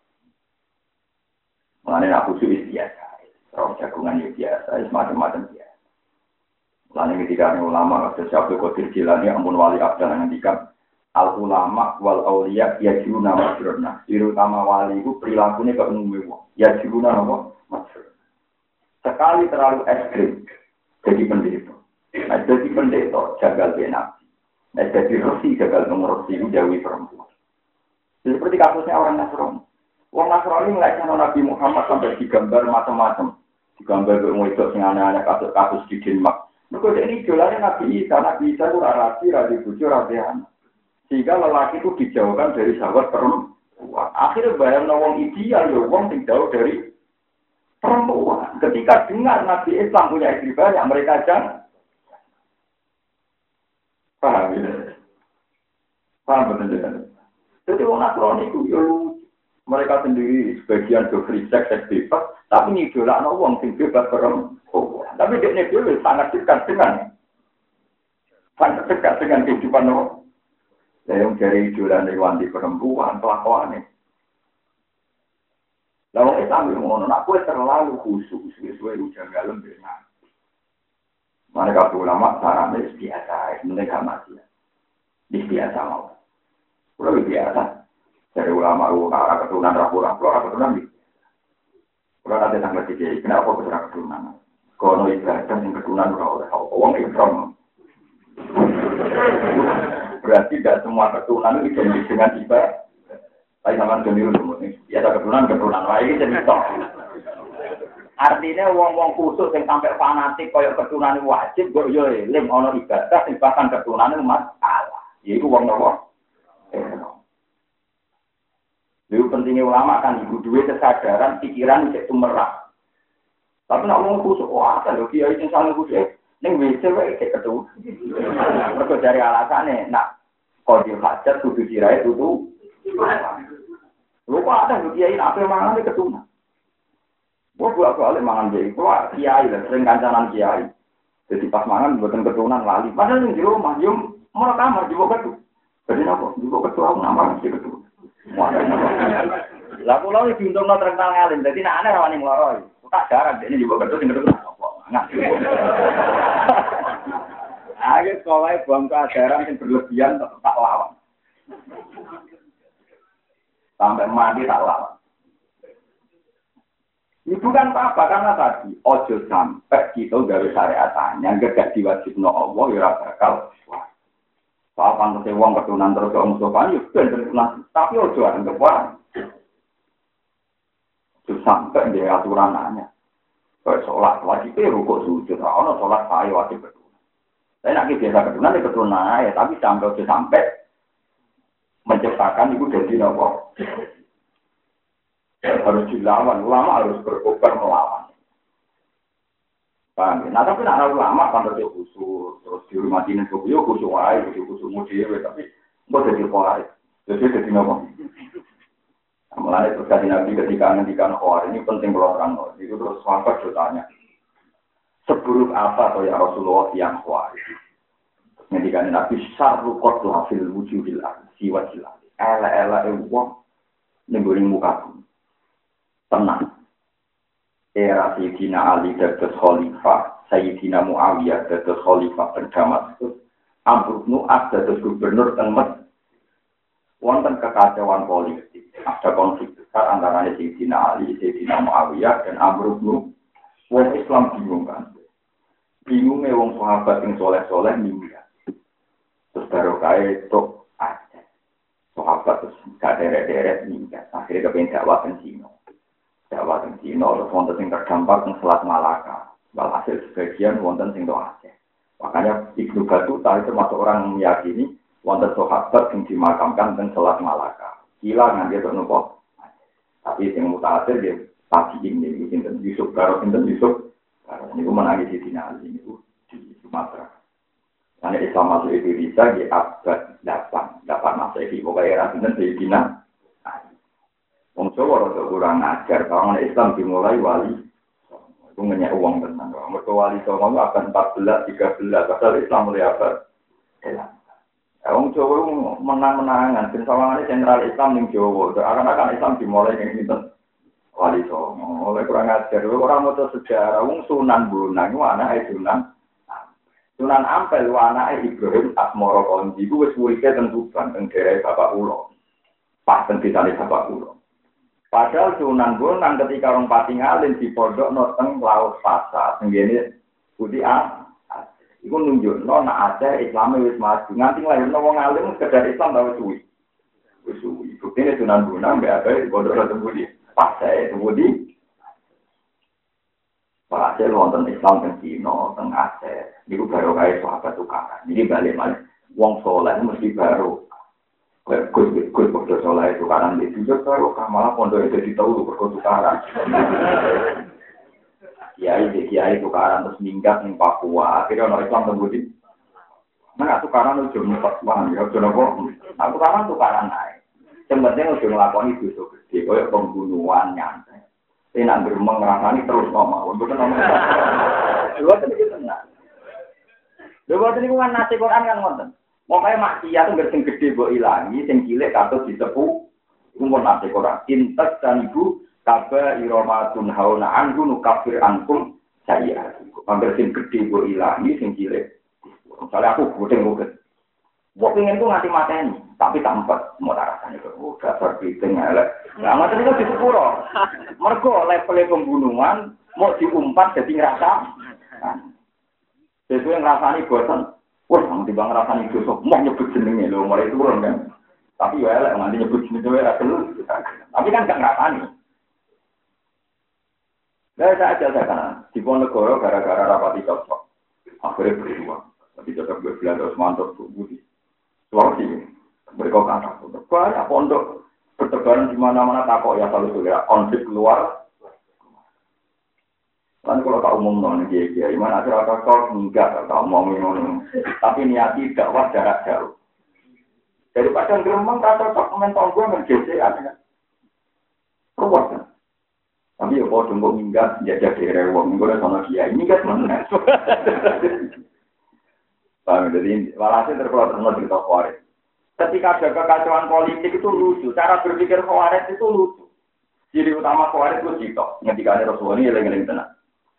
Mengenai aku khusus biasa, orang jagungan ya biasa, macam-macam biasa. Mengenai ketika ulama kata Syaikhul Qadir Jilani ampun wali abdal ngendikan al ulama wal auliya ya jiruna masruna. Terutama wali itu perilakunya ke umumnya wong. Ya jiruna apa? Masruna. Sekali terlalu ekstrim jadi pendeta. Nah, jadi pendeta jagal benar. Nah, jadi resi gagal mengurusi jauhi perempuan. Seperti kasusnya orang Nasrani. Orang Nasrani melihatnya Nabi Muhammad sampai digambar macam-macam. Digambar bermuidot sing aneh-aneh kasus-kasus di Denmark. Mereka ini idolanya Nabi Isa. Nabi Isa itu rasi, rasi bujur, rasi anak. Sehingga lelaki itu dijauhkan dari sahabat perempuan. Akhirnya bayang nawang ideal, ya wong sing jauh dari perempuan. Ketika dengar Nabi Islam punya istri banyak, mereka jangan. Paham ya? Paham betul-betul. Jadi orang Nasrani itu ya mereka sendiri sebagian do free sex, seks bebas, tapi ngidolakno wong sing bebas perempuan. Tapi dia dhewe sangat dekat dengan sangat dekat dengan kehidupan orang. Yang dari idolane wanita perempuan kelakuane. Lah wong Islam ngono, nak kowe terlalu khusus, sesuai ujian galem benar. Mereka ulama sarane biasa, mereka mati. Biasa mau. Kalau biasa, dari ulama ulama keturunan rapuran, kalau keturunan biasa. Kalau ada tanggal tiga, kenapa keturunan keturunan? Kalau ibadah yang keturunan oleh orang Islam. Berarti tidak semua keturunan itu identik dengan ibadah. Tapi sama dengan itu, biasa keturunan keturunan lain jadi top. Artinya wong-wong khusus yang sampai fanatik koyo keturunan wajib kok yo eling ana ibadah sing bahkan keturunan masalah. Yaiku wong nopo? Lalu pentingnya ulama kan ibu duwe kesadaran pikiran cek tumerah. Tapi nak wong khusus wah kan lho kiai sing saling khusus ning W C wae cek ketu. Mergo dari alasane nak kode hajat kudu dirae tutu. Lho kok ada lho kiai ape mangan keturunan. Wah, gua soalnya mangan jadi, gua kiai lah, sering kancanan kiai. Jadi pas mangan buatan keturunan lali. Padahal yang di rumah, yang mau kamar juga ketu. Jadi apa? Juga ketu aku nama sih ketu. Lah pulau ini diuntung no terkenal ngalim, jadi nak aneh rawani meloroi. Tak jarang, ini juga ketu, tinggal ketu. Nggak. Akhirnya sekolahnya buang keajaran yang berlebihan tak lawan. Sampai mati tak lawan. Itu kan apa? Karena tadi ojo sampai kita gawe syariatnya gak diwajibno Allah ya bakal. Soal pantes wong keturunan terus wong sopan yo ben keturunan, tapi ojo anggap wae. Terus sampai di aturannya. Kayak sholat wajib rukuk sujud, ora ono sholat saya wajib keturunan. Saya nak biasa keturunan ya keturunan ya, tapi sampai ojo sampai menciptakan itu jadi apa? Harus dilawan, ulama harus berkobar melawan. Paham ya? Nah tapi nak ulama kan terus khusus, terus dihormatin itu, yo khusus wae, khusus mudewe, tapi nggak jadi kuat, jadi jadi apa? Mulai terus kasih nabi ketika ngendikan kuat ini penting kalau orang nol, itu terus sahabat bertanya, seburuk apa atau ya Rasulullah yang kuat? Ngendikan nabi syarru qatla fil wujudil ardi wajillah. elek-elek wong ning muka bumi. Tenang. Era Sayyidina Ali dados khalifah, Sayyidina Muawiyah dados khalifah teng Damaskus, Amr bin As dados gubernur teng Mesir. Wonten kekacauan politik, ada konflik besar antara Sayyidina Ali, Sayyidina Muawiyah dan Amr bin Wong Islam bingung kan. Bingungnya wong sahabat yang soleh-soleh minggat. Terus baru kaya itu aja. Sahabat terus gak deret-deret minggat. Akhirnya kepengen dakwah ke Cina. Dakwah ke Cina, terus wonten yang terdampak ke Selat Malaka. Walhasil sebagian wonten yang Aceh. Makanya Ibnu Battuta itu termasuk orang yang meyakini wonten sahabat yang dimakamkan di Selat Malaka. Gila nganti itu nopo. Tapi yang mutakhir dia pagi ini, Sinten Yusuf, Karo Sinten Yusuf. Ini pun menangis di Dinali, ini di Sumatera. Karena Islam masuk Indonesia di abad delapan, delapan masa ini. Pokoknya era Sinten di Dinali. Wong Jawa rada kurang ajar, kalau Islam dimulai wali. Itu ngenyak uang tenang. Mereka wali Jawa itu abad empat belas, tiga belas. Padahal Islam mulai abad delapan. Wong Jawa menang-menangan. Dan sawangannya sentral Islam di Jawa. Akan-akan Islam dimulai yang Sinten. Wali Songo, oleh kurang ajar, orang mau sejarah, wong Sunan Bonang, anak Sunan, Sunan Ampel, anak Ibrahim Asmoro Konji, itu wes wujudnya tentu banteng dari Bapak Ulo, pas tentu dari Bapak Ulo. Padahal Sunan Bonang ketika orang Patingalin di pondok noteng laut Pasa, tenggine putih ah, itu nunjuk, no nak ada Islamnya wes maju, nganti lahir no wong alim sekedar Islam tahu suwi, suwi, buktinya Sunan Bonang nggak ada di pondok noteng putih. Pas saya kemudian, Pak Aceh wonten Islam teng Cina, teng Aceh, niku baru kaya sahabat tukaran. Jadi balik-balik, wong soleh mesti baru. Gus gus pondok soleh tukaran itu juga baru, malah pondok itu ditahu berkot tukaran. Kiai kiai tukaran terus minggat di Papua, akhirnya orang Islam kemudian. Nah tukaran itu cuma Papua, ya cuma kok. Nah tukaran tukaran naik. Sebenarnya udah ngelakoni dosa gede, kayak pembunuhan nyantai. Saya nak beremang ngerasani terus ngomong, untuk ngomong. Dua tadi kita tenang. Dua tadi kan nasi Quran kan ngonten. Mau kayak maksiat itu sing gede buat ilangi, sing cilik katut disepuh. Umur nasi Quran. Intas dan ibu kaba iromatun hauna anhu nukafir ankum saya. Hampir sing gede buat ilangi, sing cilik. Misalnya aku gudeng-gudeng. Wong pengen tuh nganti mateni, tapi tampat mau rasane kok udah berbiting elek. Lah ngoten niku disepuro. Mergo level pembunuhan mau diumpat jadi ngerasa. Sesuai ngrasani bosan. Wah, nang timbang ngrasani dosa, mau nyebut jenenge lho, mulai turun kan. Tapi ya elek nganti nyebut jenenge ora perlu. Tapi kan gak ngrasani. Lah saya aja kan di Ponegoro gara-gara rapati cocok. Akhirnya berdua. Tapi cocok berbelan terus mantap tuh budi. Suarsi, mereka kata, banyak pondok bertebaran di mana-mana takut ya selalu segera konflik keluar. Kan kalau tak umum non dia dia, gimana cara kau enggak tak umum umum, tapi niat tidak wah jarak jauh. Daripada geremang kata tak komentar gue menjadi ada, ruwet kan. Tapi ya kalau tunggu minggat jadi rewang, gue udah sama dia ini kan mana? Paham, jadi walhasil terkeluar semua cerita Khawarij. Ketika ada kekacauan politik itu lucu, cara berpikir Khawarij itu lucu. Ciri utama Khawarij itu cerita, ketika ada Rasulullah ini yang tenang.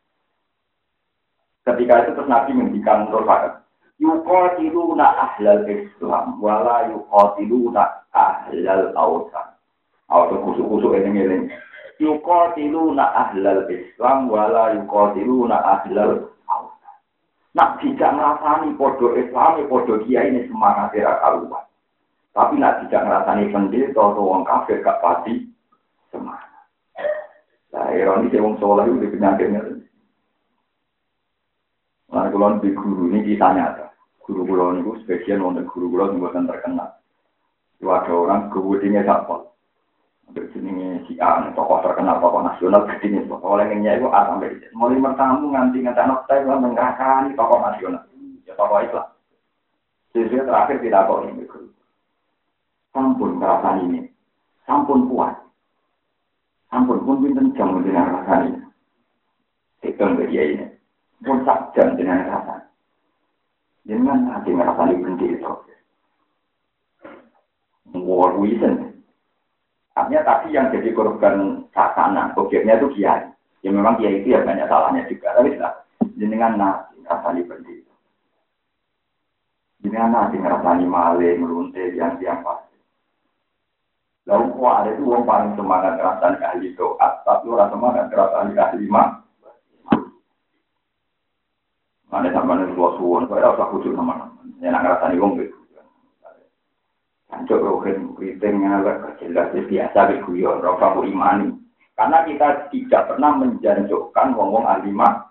Ketika itu terus Nabi menghentikan Rasulullah. Yuqatiluna ahlal Islam, wala yuqatiluna ahlal awsan. Atau kusuk-kusuk ini-ini. Yuqatiluna ahlal Islam, wala yuqatiluna ahlal nak tidak ngerasani podo Islam, podo Kiai ini semangat tidak karuan. Tapi nak tidak ngerasani pendeta atau orang kafir gak pasti semangat. Nah, ironi si wong soleh itu penyakitnya. Nah, kalau di guru ini kita nyata, guru guru ini spesial untuk guru guru yang bukan terkenal. Itu ada orang kemudiannya siapa? Berjenisnya si A, tokoh terkenal, tokoh nasional, gede tokoh lainnya itu A sampai Z. Mulai bertamu nganti nganti anak saya itu menggerakkan tokoh nasional, ya tokoh Islam. Sesuai terakhir tidak tahu ini guru. Sampun perasaan ini, sampun kuat, sampun pun pinter jam dengan perasaan ini. Hitung ke dia ini, pun sak jam dengan perasaan. Jangan nanti merasani berhenti itu. War wisen. Artinya tadi yang jadi korban sasanan, objeknya itu kiai. Ya memang kiai itu ya banyak salahnya juga. Tapi sudah, jenengan nasi ngerasani berdiri. Jenengan nasi ngerasani maling, merunte, yang yang pasti. Lalu kok ada itu orang paling semangat ngerasani ahli doa, tapi orang semangat ngerasani ahli mah. Mana sama nih suasuan, saya rasa khusus nama-nama. Yang ngerasani orang gitu. Hancur rohin kritingnya agak jelas biasa beguyon rasa imani karena kita tidak pernah menjanjukkan ngomong alimah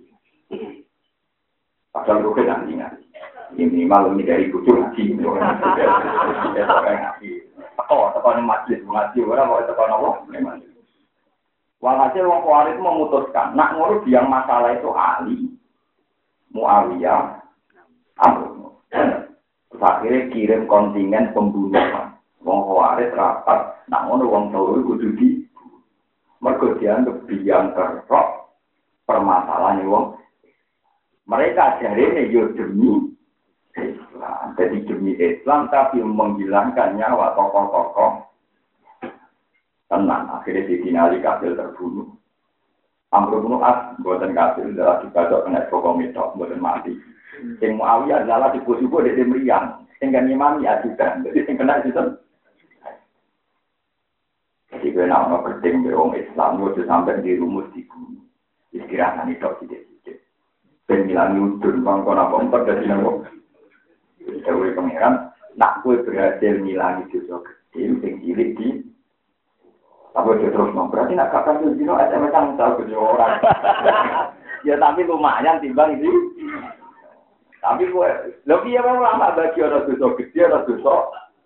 padahal rohin ahlinya ini minimal ini dari kucur ngaji ya orang ngaji oh tekan masjid ngaji orang mau tekan Allah memang walhasil wong Khawarij memutuskan nak ngurus yang masalah itu ahli Muawiyah Amr akhirnya kirim kontingen pembunuhan. Wong Khawarij rapat, nak ngono wong Tauri kudu di. Mergo dianggap biang kerok permasalahan wong. Mereka jarene yo demi Islam, jadi demi Islam tapi menghilangkan nyawa tokoh-tokoh. Tenang, akhirnya ditinali kafir terbunuh. Amr bin As buatan kafir adalah dibacok kena pokok metok, buatan mati. Sing Muawiyah adalah tipu-tipu dari meriang. Sing kan imami ajudan. Jadi sing kena itu. Jadi gue nama penting beong Islam itu sampai di rumus di bumi. Istirahat itu tidak-tidak. Pemilangi udun bang kau nak empat dari nama. Dewi pangeran. Nak gue berhasil milangi dosa kecil sing cilik di. Tapi dia terus mau berarti nak kakak tu dino S M S ang tahu kerja orang. Ya tapi lumayan timbang itu. Tapi gue, lebih ya memang lama bagi orang dosa gede, orang dosa.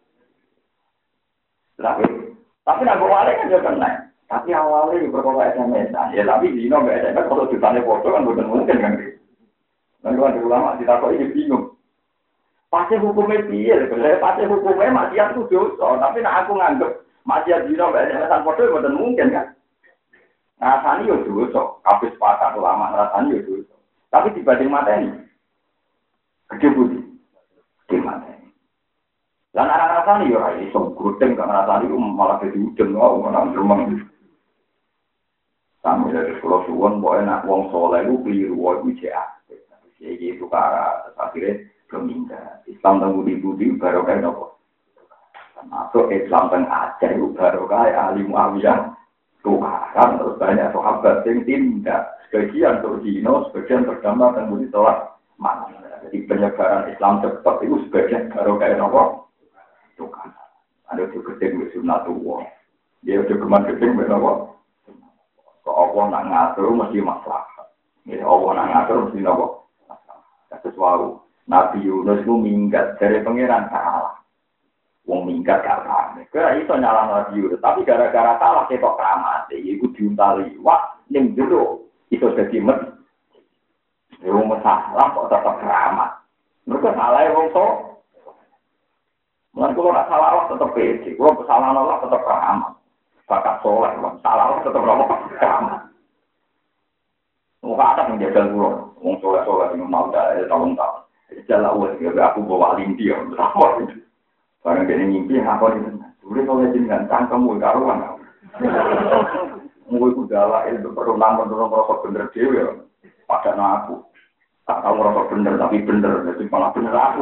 Tapi, tapi nak awalnya kan juga kena. Tapi awalnya juga berkata S M S. Ya tapi di sini nggak S M S, kalau ditanya foto kan bukan mungkin kan. Nanti kan ulama kita kok ini bingung. Pasti hukumnya biar, pasti hukumnya maksiat itu dosa. Tapi nak aku nganggep maksiat di sini nggak S M S foto bukan mungkin kan. Rasanya ya dosa. Habis pasang ulama rasanya ya dosa. Tapi dibanding mata ini. Gede budi, gimana? Dan anak rasanya ya, ini so gudeng kan rasanya itu malah jadi udeng, wow, malah geremeng. Sampai dari sekolah suwon, boleh nak wong soleh itu keliru, wow, itu aktif. Jadi itu cara akhirnya kemindah. Islam tangguh di budi baru kayak nopo. Masuk Islam teng ajar itu baru kayak ahli Muawiyah. Tukaran terus banyak sahabat yang tindak. Sebagian terdino, sebagian terdampak tangguh di sholat mana. Jadi penyebaran Islam cepat itu sebagian baru kayak nopo. Itu kan. Ada juga gedeng di sunatullah. Dia juga keman gedeng di nopo. Kalau Allah nak ngatur mesti masalah. Ya Allah nak ngatur mesti nopo. Kata suatu Nabi Yunus itu minggat dari pangeran salah. Wong minggat gak paham. Kira itu nyala Nabi Yunus. Tapi gara-gara salah ketok keramat. Itu diuntali. Wah, yang dulu itu jadi med. Yang masalah kok tetap keramat. Mereka salah ya wong tok. Mungkin kalau nak salah Allah tetap pede. Kalau kesalahan Allah tetap keramat. Bakat soleh, salah Allah tetap keramat. Muka ada yang jaga pulau. Wong soleh soleh yang mau dah tahun-tahun. Jalan uang juga aku bawa linti ya. Sama itu. Barang dia ngimpi apa itu? Sudah soleh jenengan cangkemmu karuan. Mungkin udah lah itu perlu namun dorong rokok bener dewi ya. Padahal aku. Tak tahu merasa benar, tapi benar. Jadi malah benar aku.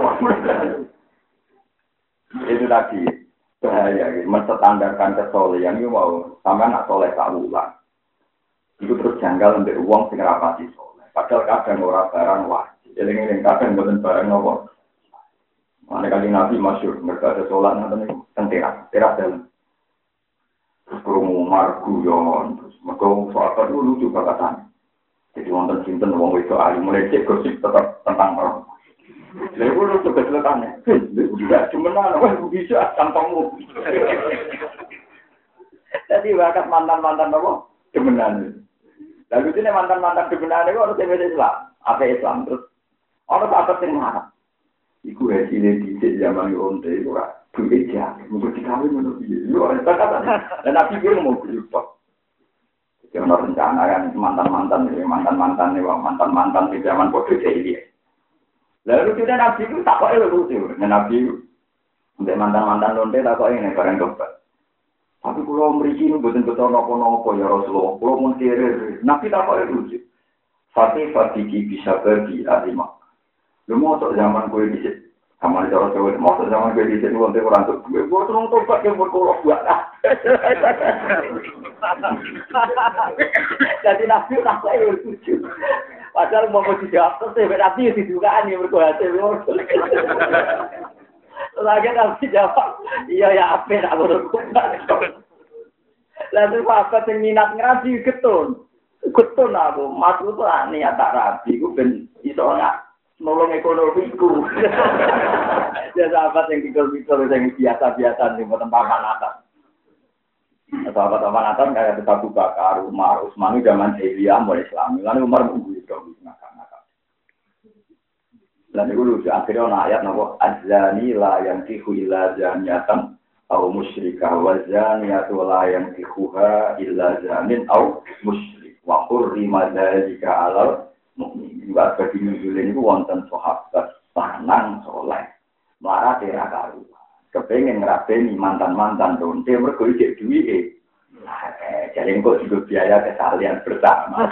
Itu tadi bahaya. Menstandarkan kesolehan itu mau. Sampai nak soleh tak ulang. Itu terus janggal untuk uang sing rapati soleh. Padahal kadang orang barang wajib. Jadi ini kadang bukan barang nopo. Mana kali Nabi masyur. Mereka ada sholat nanti teras. Teras dalam. Terus kerungu margu yon. Terus mereka soal dulu juga katanya. Jadi wonten sinten wong wedok ahli mulai cek gosip tetap tentang orang. Lha iku lho kebetulannya. Lha juga cuman wah bisa tampangmu. Jadi bakat mantan-mantan apa? Demenan. Lalu ini mantan-mantan demenan itu harus beda Islam. Apa Islam terus? Orang apa sing marah? Iku hasilnya di zaman onte itu ora duit ya. Mungkin dikawin ngono piye. Yo kata-kata. Dan Nabi bilang mau berubah. Jangan rencana kan mantan-mantan ini, mantan-mantan ini, mantan-mantan di zaman bodoh jahiliyah. Lalu sudah Nabi itu tak kok lucu, Nabi Untuk mantan-mantan lonte tak kok ini bareng dokter. Tapi kalau mriki ini betul-betul nopo-nopo ya Rasulullah. Kalau mau kiri, Nabi tak kok itu. Fatih Fatih bisa pergi alimah. Lu mau sok zaman gue di situ. Sama di Jawa mau sok zaman gue di situ lonte orang tuh. Gue gue terus tobat yang berkolok buat lah. Jadi Nabi tak kok itu. Padahal mau mau dijawab terus Nabi didugaan yang berkolok. Lagi nanti jawab, iya ya apa nak berkumpul. Lalu apa yang minat ngaji getun, getun aku, maksud lah niat tak rapi, aku ben isonya nolong ekonomiku. Ya sahabat yang pikir-pikir yang biasa-biasa di tempat atas. Sahabat-sahabat atas kayak Abu Bakar, Umar, Utsman zaman jahiliyah mulai Islam. Lalu Umar mengguyur dong, ngakak-ngakak. Dan itu lucu, akhirnya ada ayat nama azani la yang tihu illa zaniatan au musyrikah wa zaniyatu la yang tihuha illa zanin au musyrik wa hurrima dzalika alal mukminin. Wa bagi nuzulin itu wonten sahabat lanang soleh marah tera karu kepengen ngrabeni mantan-mantan donte mergo ijek duwike. Eh jadi kok juga biaya kesalian bersama.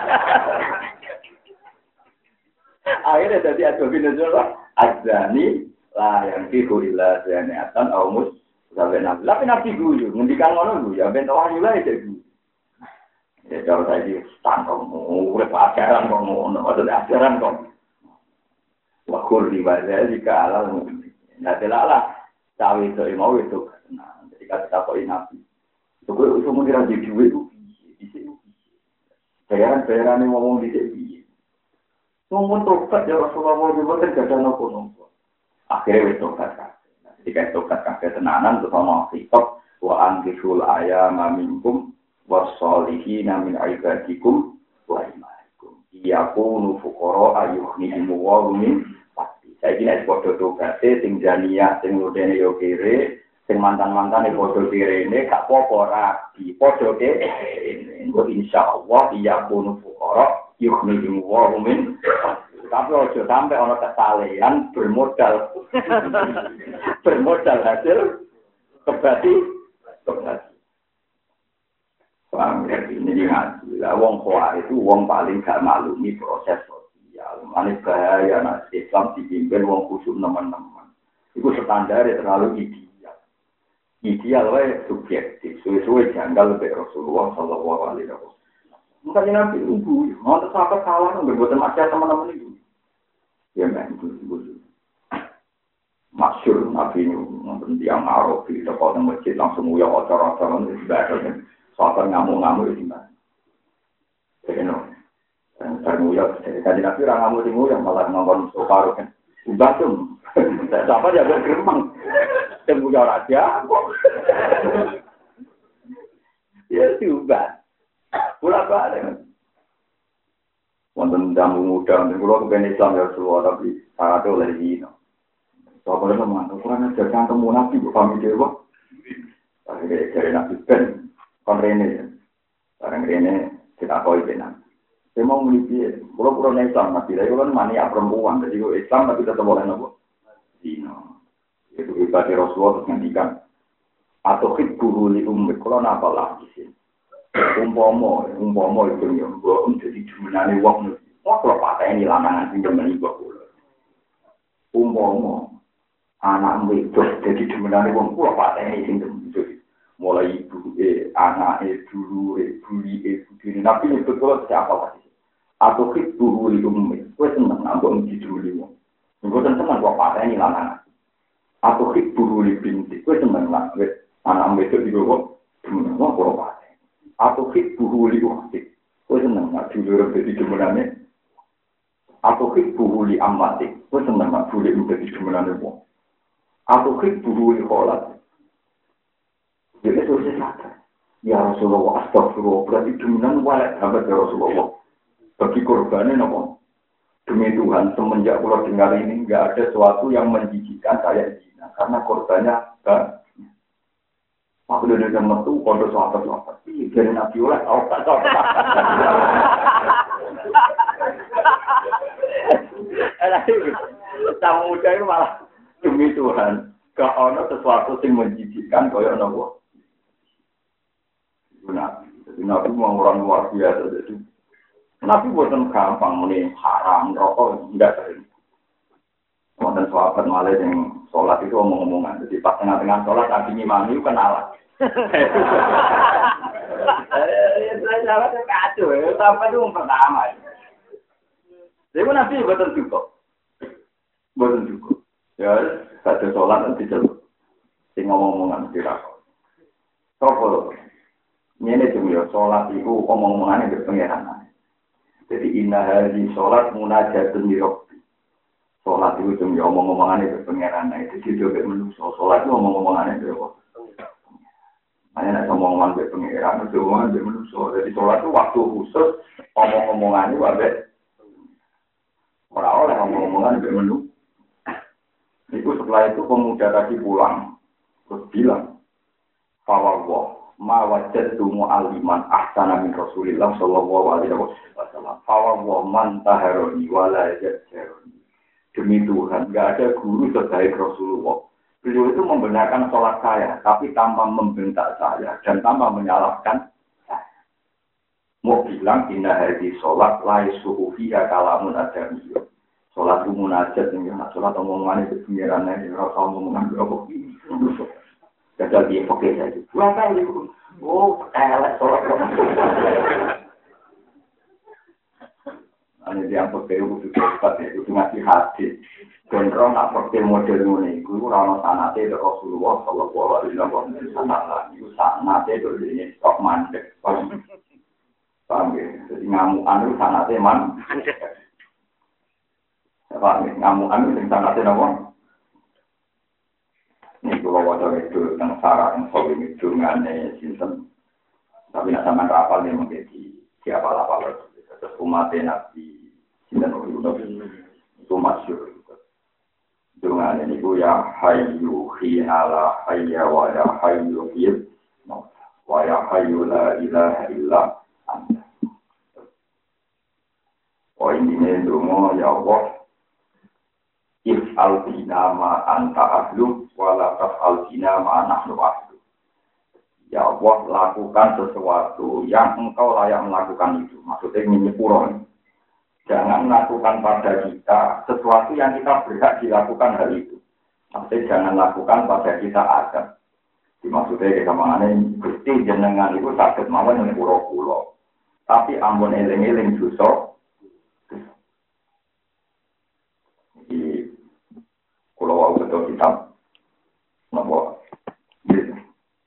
Akhirnya jadi ada binatang azani lah yang tihu illa zaniatan au mus sampai nabi. Tapi nabi guyu ngendikan ngono guyu ya ben wahyu lah itu. Ya kalau tadi tangkong urip ajaran kok ngono, ada ajaran kok. Wa kulli wadzalika ala mu'min. Nah, delalah tahu itu mau itu. Nah, ketika kita kok nabi. Itu kok iso mung dira duwe itu piye? Bayaran-bayaran ngomong di sini. Ngomong tobat ya Rasulullah juga terjadi nopo-nopo. Akhirnya wis tobat kan. Ketika tobat kan ketenanan terus ana kitab wa anfishul ayama minkum wasolihina min ibadikum wa imanikum. Iyakunu fuqara ayuhnihim wa min pasti. Saiki nek padha tobat sing janiah sing ludene yo kere, sing mantan-mantane padha kirene gak apa-apa rabi, padha kene. Insyaallah iyakunu fuqara yukhnihi wa min tapi ojo sampai ono kesalehan bermodal bermodal hasil kebati kebati paham ya ini ngaji lah wong kuat itu wong paling gak maklumi proses sosial manis bahaya nak Islam dipimpin wong khusus teman-teman itu standar terlalu ideal ideal wae subjektif suwe-suwe janggal lebih Rasulullah sallallahu alaihi wasallam. Mungkin nabi ibu, mau tersapat salah, nggak buat macam teman-teman itu. Ya memang itu, masyur nabi ini, nonton tiang Arab di depan masjid langsung uyah acara-acara itu sudah soal ngamuk-ngamuk itu gimana? Jadi no, dan uyah, tadi nabi orang ngamuk itu yang malah nonton soal kan, ubah tuh, siapa dia bergeremang, tembuyah raja, ya diubah. Pula balik. Wonten jamu muda, dan kalau kepen Islam ya Rasulullah, tapi syaratnya oleh dino. Soalnya teman, ukuran aja kan temu nabi, kami dewa. Akhirnya dari nabi ben, kon rene, barang rene kita koi benar. Saya mau melihat, kalau ukuran Islam nabi, tapi kalau mania perempuan, jadi kalau Islam tapi tetap boleh nopo dino. Itu ibadah Rasulullah terus ngendikan, atau hibbu li ummik, kalau napa lah di sini. Umpama, umpama itu yang gua jadi jumenane wong. Wong kalau pateni lanangan sing demen iku kula. Umpama anak wedok jadi jumenane wong kula pateni sing demen. Mulai ibu e, anak e, dulu e, buli e, budine nabi itu kula siapa pasti. Atau kibu li ummi. Kowe seneng ambek dijuli wong. Engko seneng kok pateni lanangan. Atau kibu li binti. Kowe seneng lah anak wedok iki kok demen wong kula. Atau hit buhuli waktu, kau senang nak dulu jadi kemenangan. Atau hit buhuli amati, kau senang nak dulu jadi kemenangan pun. Atau hit buhuli kholat. Jadi itu saya ya Rasulullah, astagfirullah, berarti kemenangan walak sahabat ya Rasulullah. Bagi korbannya nopo. Demi Tuhan, semenjak pulau dengar ini enggak ada sesuatu yang menjijikan kayak zina, karena korbannya kan. Aku udah dengar metu, kondo sahabat-sahabat. Ih, dari Nabi oleh, tau tak tau. Sama muda itu malah demi Tuhan. Gak ada sesuatu yang menjijikkan kaya nopo. Nabi, jadi Nabi mau orang luar biasa. Jadi Nabi bukan gampang muni haram rokok tidak sering. Kemudian sahabat malah yang sholat itu omong-omongan. Jadi pas tengah-tengah sholat Nabi ngimami kenalan. Saya sahabat kacau, sahabat itu pertama. Jadi Nabi bukan cukup, bukan cukup. Ya, satu sholat nanti celuk. Sing ngomong-omongan tidak. Sopo. Ini cuma sholat itu omong-omongannya berpengeran. Jadi inna hari sholat munajatun mirobbi. Sholat itu cuma omong-omongannya berpengeran. Itu juga menusuk. Sholat itu omong-omongannya berpengeran. Hanya nak omong-omongan berpengeran, itu omongan bermenusuk. Jadi sholat itu waktu khusus omong-omongannya wabek. Orang oleh omong-omongan bermenusuk. Itu setelah itu pemuda tadi pulang. Terus bilang, Fawwah. Ma wajadtu mu'alliman ahsana min Rasulillah sallallahu alaihi wasallam. Fa wa man taharani wa la yajharuni. Demi Tuhan, enggak ada guru sebaik Rasulullah. Beliau itu membenarkan sholat saya, tapi tanpa membentak saya dan tanpa menyalahkan saya. Mau bilang inna hadhi sholat la yasuhu fiha kalamun adamiyah. Sholat itu munajat, sholat omongan itu pengirannya, rasa omongan berapa ini. Gagal dia pakai saja. Pulang kali, oh, elek sholat. Ini dia pakai itu cepat ya, itu masih hati. Kontrol nak pakai model ini, itu ramah sanate Rasulullah Sallallahu Alaihi Wasallam. Itu sanate itu ini stok mandek, paham? Paham ya? Jadi ngamuan itu sanate man. Paham ya? Ngamuan itu sanate apa? Ini kalau wajar itu tentang sarah yang soal ini dengan sistem, tapi nak sama rapal ni menjadi siapa lapar terus umat nabi sinten itu masyhur dengan ini bu ya hayyu khiyala hayya wa ya hayyu khiyal wa ya hayyu la ilaha illa anta. Oh ini dungo ya Allah. If al-bina ma anta ahlu, wala taf'al-bina ma nahnu ahlu. Ya Allah, lakukan sesuatu yang engkau layak melakukan itu. Maksudnya menyepurkan. Jangan lakukan pada kita sesuatu yang kita berhak dilakukan hal itu. Maksudnya jangan lakukan pada kita adam. Maksudnya kita mengenai gusti jenengan itu sakit mawon yang pura-pura. Tapi ampun eling-eling dosa. Kalau wau betul kitab, nopo, gitu.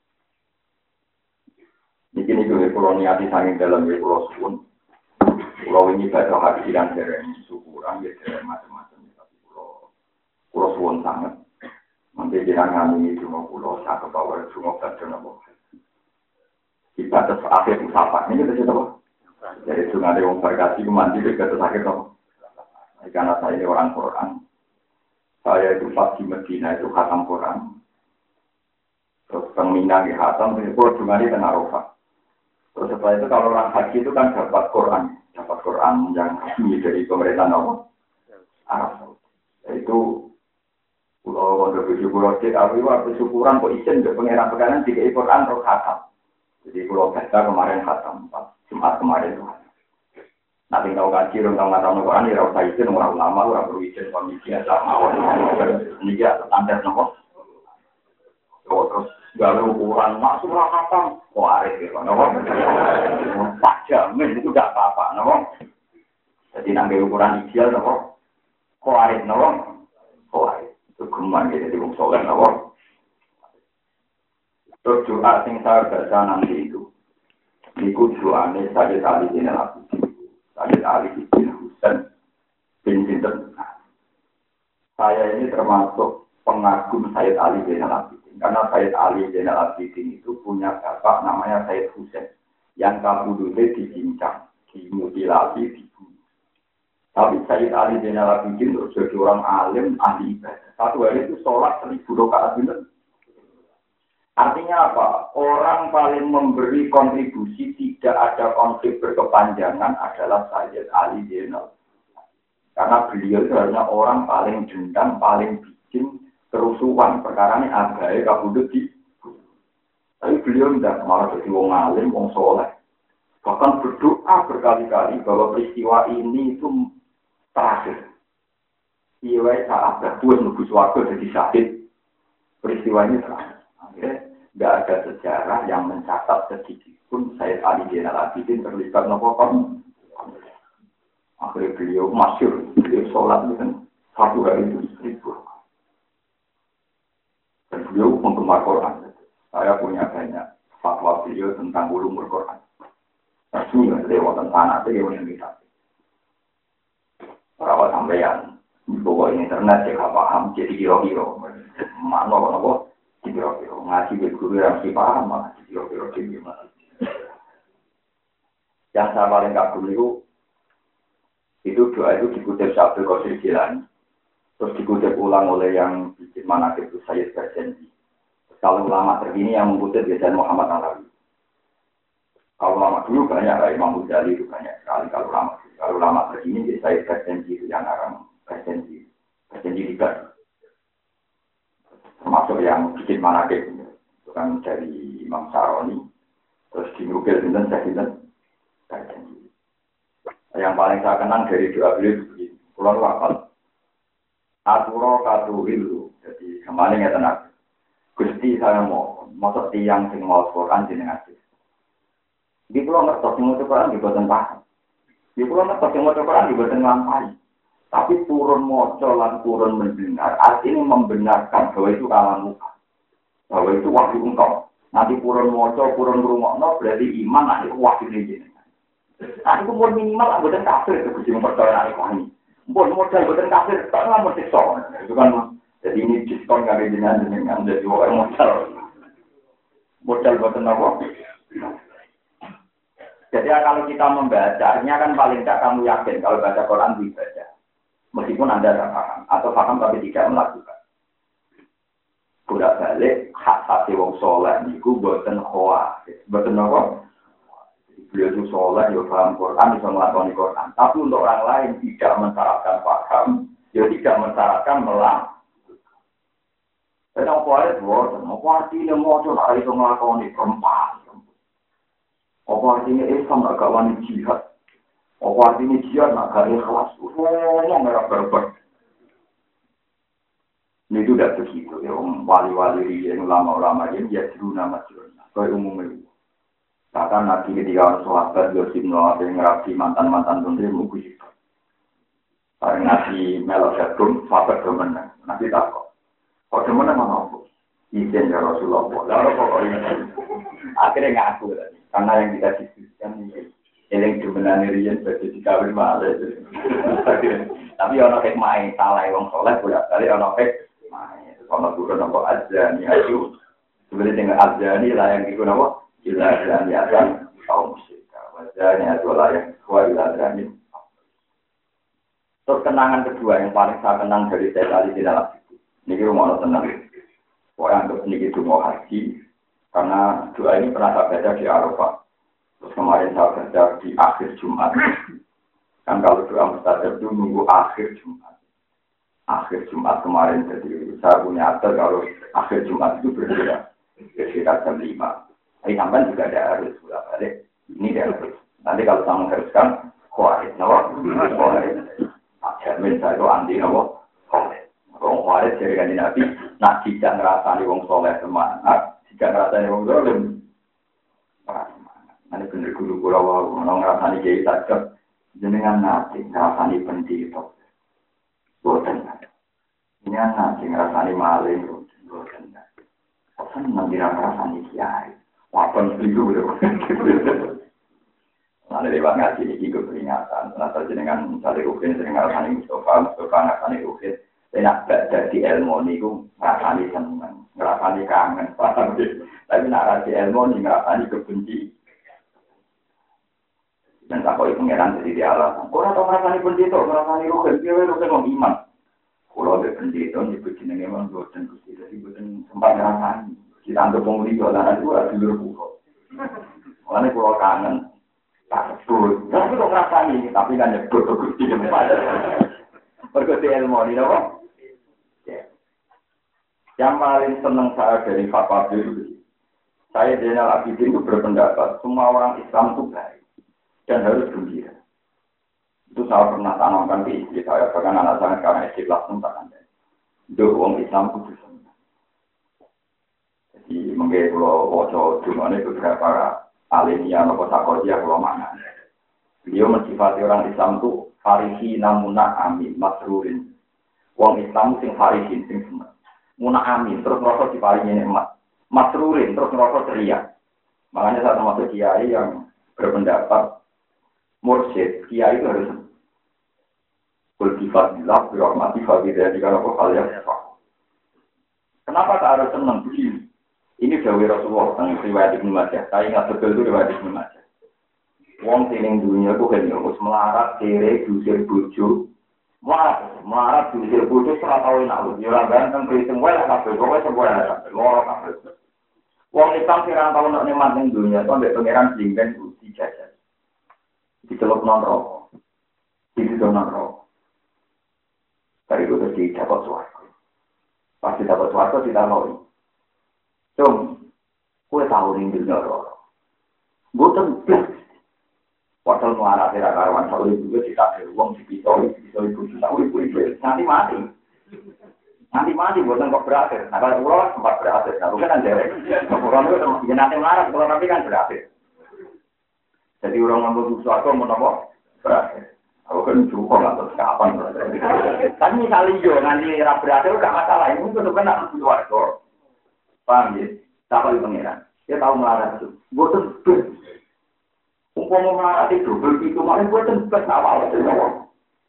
Ini juga kalau niati saking dalam ya kalau suun, kalau ini baca hati dan dereng syukuran ya dereng macam-macam. Tapi kalau kalau suun sangat, nanti jangan ini cuma kalau saya kebawa cuma baca nopo. Kita terus akhir usaha ini kita coba. Dari sungai yang berkasih mandi kita terus akhir nopo. Karena saya ini orang Quran. Saya itu pas di Medina itu khatam Quran. Terus pembina di khatam, itu cuma di Tenarofah. Terus setelah itu kalau orang haji itu kan dapat Quran. Dapat Quran yang resmi dari pemerintah Arab Saudi. Itu pulau Wonder Tujuh Pulau Cek, aku waktu syukuran kok izin ke pengeran-pengeran tiga Quran terus khatam. Jadi pulau Besta kemarin khatam, Jumat kemarin itu khatam. Nanti tahu kaji, orang nggak tahu Quran, ya orang izin, orang ulama, orang perlu izin, komisi asal mawon, ini dia standar nopo. Terus gawe ukuran masuk lah khatam, kok arif gitu, nopo. Empat jam, itu tidak apa-apa, nopo. Jadi nanti ukuran ideal, nopo. Kok arif, nopo. Kok arif, itu geman gitu, di bungsoleh, nopo. Terus doa sing saya baca nanti itu, ikut doanya saya tadi ini lagi. Sayyid Ali bin Husain bin Sinten. Saya ini termasuk pengagum Sayyid Ali bin Al-Abidin. Karena Sayyid Ali bin Al-Abidin itu punya bapak namanya Sayyid Husain. Yang kabudutnya dicincang, dimutilasi, dibunuh. Tapi Sayyid Ali bin Al-Abidin itu jadi orang alim, ahli ibadah. Satu hari itu sholat seribu rakaat benar. Artinya apa? Orang paling memberi kontribusi tidak ada konflik berkepanjangan adalah Sayyid Ali bin Al-Abidin. Karena beliau itu hanya orang paling dendam, paling bikin, kerusuhan, perkara ini agae kabudut di. Tapi beliau tidak malah jadi wong alim, wong soleh. Bahkan berdoa berkali-kali bahwa peristiwa ini itu terakhir. Iya, saat berbuat nunggu suatu jadi sakit. Peristiwa ini terakhir. Akhirnya tidak ada sejarah yang mencatat sedikit pun Sayyid Ali Zainal Abidin terlibat nopo kon. Akhirnya beliau masyhur, beliau sholat dengan satu hari itu seribu. Dan beliau penggemar Quran. Saya punya banyak fatwa beliau tentang ulumul Quran. Tapi nggak lewat tentang anak dia yang kita. Perawat sampeyan, bawa internet saya paham jadi kira-kira. Mana apa? Kira-kira ngaji ke guru yang si paham malah kira-kira gimana. Yang saya paling kagum itu itu doa itu dikutip Syabdul Qadir Jilani, terus dikutip ulang oleh yang bikin manaqib itu Sayyid Berjanji. Kalau ulama terkini yang mengutip biasanya Muhammad Alawi. Kalau ulama dulu banyak, lah Imam Ghazali itu banyak sekali. Kalau ulama kalau ulama terkini jadi Sayyid Berjanji itu yang arang Berjanji, Berjanji tiga. Termasuk yang bikin manaqib itu kan dari Imam Saroni, terus dinukil dan saya Berjanji. Yang paling saya kenang dari doa beliau begini, pulau wakal, aturo katuhilu, jadi kemarin ya tenang, Gusti saya mau, masuk tiang sing mau Quran jenengan sih. Di pulau ngertos yang mau Quran di badan paham, di pulau ngertos yang mau Quran di badan lampai, tapi turun moco lan turun mendengar, artinya membenarkan bahwa itu kalam muka, bahwa itu wahyu engkau. Nanti turun moco, turun rumokno berarti iman, nanti wahyu ini. Nah, itu pun minimal anggota kafir itu bisa mempercayai ini. Pun modal anggota kafir, tak lama siksa. Itu kan, jadi ini diskon nggak ada jenengan jenengan jadi orang modal. Modal buat apa? Jadi kalau kita membacanya kan paling tidak kamu yakin kalau baca Quran dibaca, meskipun anda tidak paham atau paham tapi tidak melakukan. Bolak balik hak hati wong soleh niku buatan khoa, buatan apa? Beliau itu sholat, ya paham Quran, bisa melakoni Quran. Tapi untuk orang lain tidak mensyaratkan paham, ya tidak mensyaratkan melang. Dan apa itu? Apa artinya mau coba itu melakoni perempuan? Apa artinya Islam agak wani jihad? Apa artinya jihad agak ikhlas? Ngomong merah berber. Ini itu tidak begitu. Ya, wali-wali yang ulama-ulama ini ya dulu nama jurnal. Kayak umumnya. Bahkan Nabi ketika orang sahabat Yosib Noah yang ngerapi mantan-mantan menteri mungkin itu. Karena Nabi melok jadum, sahabat demenang. Nabi takut. Kok demenang mana aku? Izin ya Rasulullah. Lalu pokoknya akhirnya ngaku tadi. Karena yang kita diskusikan ini, yang demenang Rian berarti dikawin malah. Tapi orang kayak main salah orang soleh boleh kali orang kayak main. Kalau turun apa aja nih ayu. Sebenarnya dengan aja nih lah yang ikut apa? Ilahan yasan kaum musyrik. Wajahnya adalah yang kuat ilahan ini. Terus kenangan kedua yang paling saya kenang dari Sayyid Ali Zainal Abidin. Ini rumah tenang. Orang untuk ini itu mau haji karena doa ini pernah saya baca di Arafah. Terus kemarin saya baca di akhir Jumat. Kan kalau doa mustajab itu nunggu akhir Jumat. Akhir Jumat kemarin jadi saya punya atur kalau akhir Jumat itu berbeda. Sekitar jam lima. Ini sampai juga ada harus bolak balik. Ini dia harus. Nanti kalau saya mengharuskan, kuarit, nawa, kuarit. Jamin saya itu anti nawa, kuarit. Kalau kuarit dari kanji Nabi, nak tidak ngerasani wong soleh semangat, tidak ngerasani wong dolim. Nanti bener guru guru wau, nong ngerasani kiai saja, jenengan nanti ngerasani pendito, boten. Ini nanti ngerasani maling, boten. Boten nanti ngerasani kiai. Wapan itu udah. Nanti lewat ngaji ini juga peringatan. Nanti jenengan mencari rukin, sering ngerasani Mustafa, Mustafa ngerasani rukin. Saya nak jadi ilmu ini, ngerasani senang, ngerasani kangen. Tapi nak rasi ilmu ini, ngerasani kebenci. Dan tak kau pengeran jadi dia alasan. Kau nak ngerasani benci itu, ngerasani rukin, dia rukin mau iman. Kalau ada benci itu, nyebut jenengan memang bosan. Jadi bosan sempat ngerasani. Kita anggap pemuli jualan itu ada dulu pulau. Makanya pulau kangen, tak sebut. Tapi kok ngerasani, tapi kan nyebut ke gusti jempat. Berkuti ilmu ini apa? Yang paling senang saya dari fatwa itu, saya Zainal Abidin itu berpendapat semua orang Islam itu baik dan harus gembira. Itu saya pernah tanamkan di istri saya, bahkan anak saya sekarang S D kelas enam anda. Itu orang Islam itu senang. Jadi mungkin kalau wajah cuma itu beberapa alimnya atau sakodia kalau mana. Beliau mensifati orang Islam itu farihi namuna amin masrurin. Orang Islam sing farihin sing senang. Muna amin, terus merasa diparingi nikmat. Masrurin, terus merasa ceria. Makanya saya termasuk kiai yang berpendapat mursyid, kiai itu harus berkifadilah, berhormati, fadilah, jika apa hal yang kenapa tak harus senang begini? Ini Dawi Rasulullah, yang riwayat Ibnu Majah. Saya ingat betul itu riwayat Ibnu Majah. Wong tining dunia itu kan harus melarat, kere, dusir, bojo. Melarat, melarat dusir bodoh serah tahu nak lu. Orang ganteng kriting wae lah kabeh, pokoke sebuah kabeh, loro kabeh. Wong Islam sira tahu nak nikmat ning dunia, to mbek pangeran jingben dijajah. Diceluk nang rokok. Diceluk nang rokok. Dari itu terus dapat suara. Pasti dapat suara tidak tahu. Cung, kue tahu ning dunia rokok. Boten blas. Padahal melarat tidak karuan, kalau itu juga tidak ada uang dipisau, dipisau ibu juta, ibu ibu nanti mati, nanti mati bukan kok berakhir. Nah kalau pulau sempat berakhir, nah bukan ada, bukan itu termasuk nanti melarat, kalau tapi kan berakhir. Jadi orang ngambil sesuatu mau nopo berakhir. Aku kan cukup nggak terus kapan berakhir. Tapi misalnya yo nanti era berakhir udah masalah, ini itu kan harus keluar kok. Paham ya? Siapa di pengiran? Dia tahu melarat itu, bukan umpama melarati double itu malah buat tempat awal itu awal.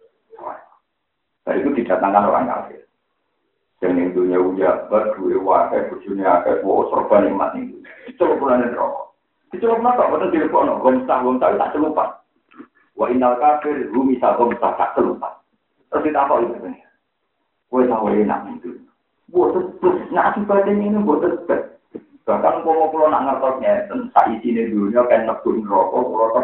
Dari itu didatangkan orang kafir. Yang dunia uja berdua wakai bujurnya akai bawa serba nikmat itu. Itu bulan rokok. Itu apa? Betul di kono. Gomsah gomsah tak celupan. Wa innal kafir rumisa gomsah tak celupan. Terus kita apa itu? Kue tahu enak itu. Buat terus nak sifatnya ini buat terus. Bahkan kalau pulau nak ngertosnya tentang isi ini dunia kan nebun rokok, rokok.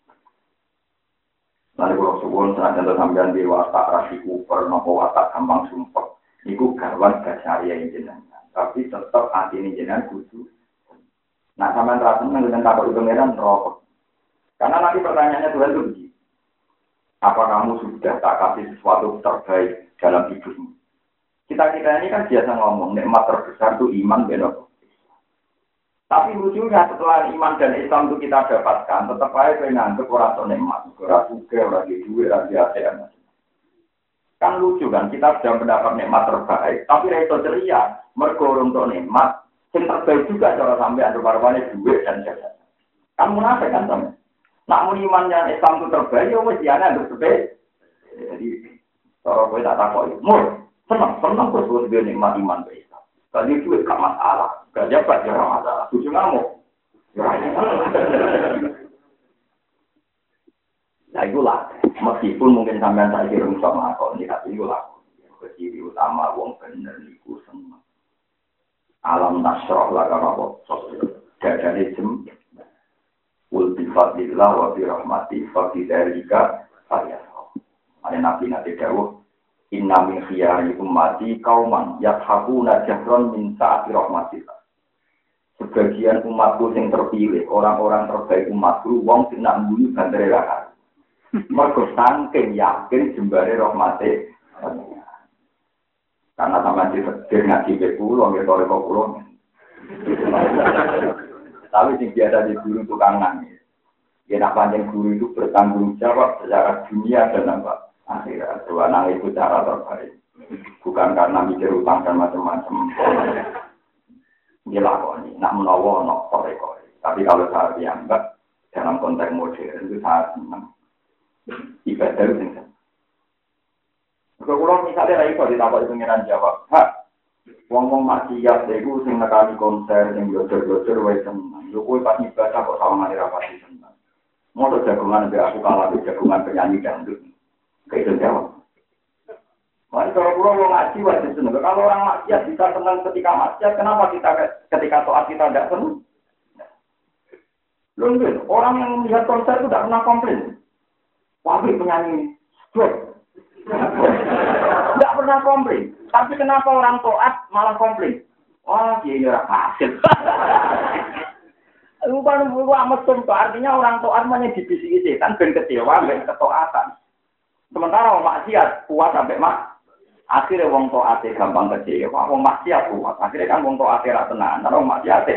Lalu kalau suwon senang contoh sambilan di watak rasi kuper, nopo watak gampang sumpah. Iku garwan gasyariah yang jenengan. Tapi tetap hati ini jenengan kudu. Nah sampean rasen dengan takut itu meran rokok. Karena nanti pertanyaannya Tuhan itu begini. Apa kamu sudah tak kasih sesuatu terbaik dalam hidupmu? Kita-kita ini kan biasa ngomong, nikmat terbesar itu iman benar. Tapi lucunya setelah iman dan Islam itu kita dapatkan, tetap aja menganggap orang itu nikmat, orang juga, orang di duit, orang di asean. Kan lucu kan, kita sudah mendapat nikmat terbaik, tapi itu ceria, mergo untuk nikmat, yang terbaik juga cara sampai ada barang-barangnya duit dan jasa. Kan munafik kan sama. Namun iman yang Islam itu terbaik, ya wes diana untuk terbaik. Jadi, kalau gue tak takut, mur, senang, senang terus gue sebagai nikmat iman ke Islam. Tadi duit gak masalah. Gak dapat ya masalah. Tujuh ngamuk. Nah itulah. Meskipun mungkin sampean saya kira sama aku. Ini hati itulah. Keciri utama wong bener niku seneng. Alam nasroh lah kalau apa. Dadane jem. Wul bifadillah wa birahmati fadidalika fadiyah. Ada nabi-nabi dawuh. Inna min khiyari ummati kauman yathakuna jahron min sa'ati rahmatillah. Sebagian umatku yang terpilih, orang-orang terbaik umatku, wong sing nak mbuni bandare ra. Mergo saking yakin jembare rahmate. Karena sampeyan ditetir ngaji ke kula, nggih karo kula. Tapi sing biasa di guru tukang nangis. Ya nak panjang guru itu bertanggung jawab secara dunia dan apa? Akhirat, dua nang itu cara terbaik. Bukan karena mikir utang dan macam-macam. Dia lakoni, nak menawa, nak kore-kore. Tapi kalau saya dianggap dalam konteks modern itu sangat senang. Ibadah itu senang. Kalau misalnya lagi kalau ditambah pengiran jawab, ha, wong-wong maksiat itu sing nekani konser, sing belajar-belajar, wae senang. Yo kowe pas ibadah kok sawangane ra pati senang. Mau jagungan mbek aku kalah jagungan penyanyi dangdut. Kayak itu jawab. Mari kalau pulau mau ngaji wajib senang. Kalau orang maksiat bisa senang ketika maksiat, kenapa kita ketika toat kita tidak senang? Lungguin, orang yang melihat konser itu tidak pernah komplain. Wabih penyanyi, stop. Tidak pernah komplain. Tapi kenapa orang taat malah komplain? Wah, dia ora hasil. Bukan bukan mesum tuh, artinya orang taat hanya dibisiki setan ben kecewa ben ketaatan. Sementara orang maksiat kuat sampai mak. Akhirnya wong taate gampang kecewa, wong maksiat kuat. Akhirnya kan wong taate ra tenan, wong maksiat.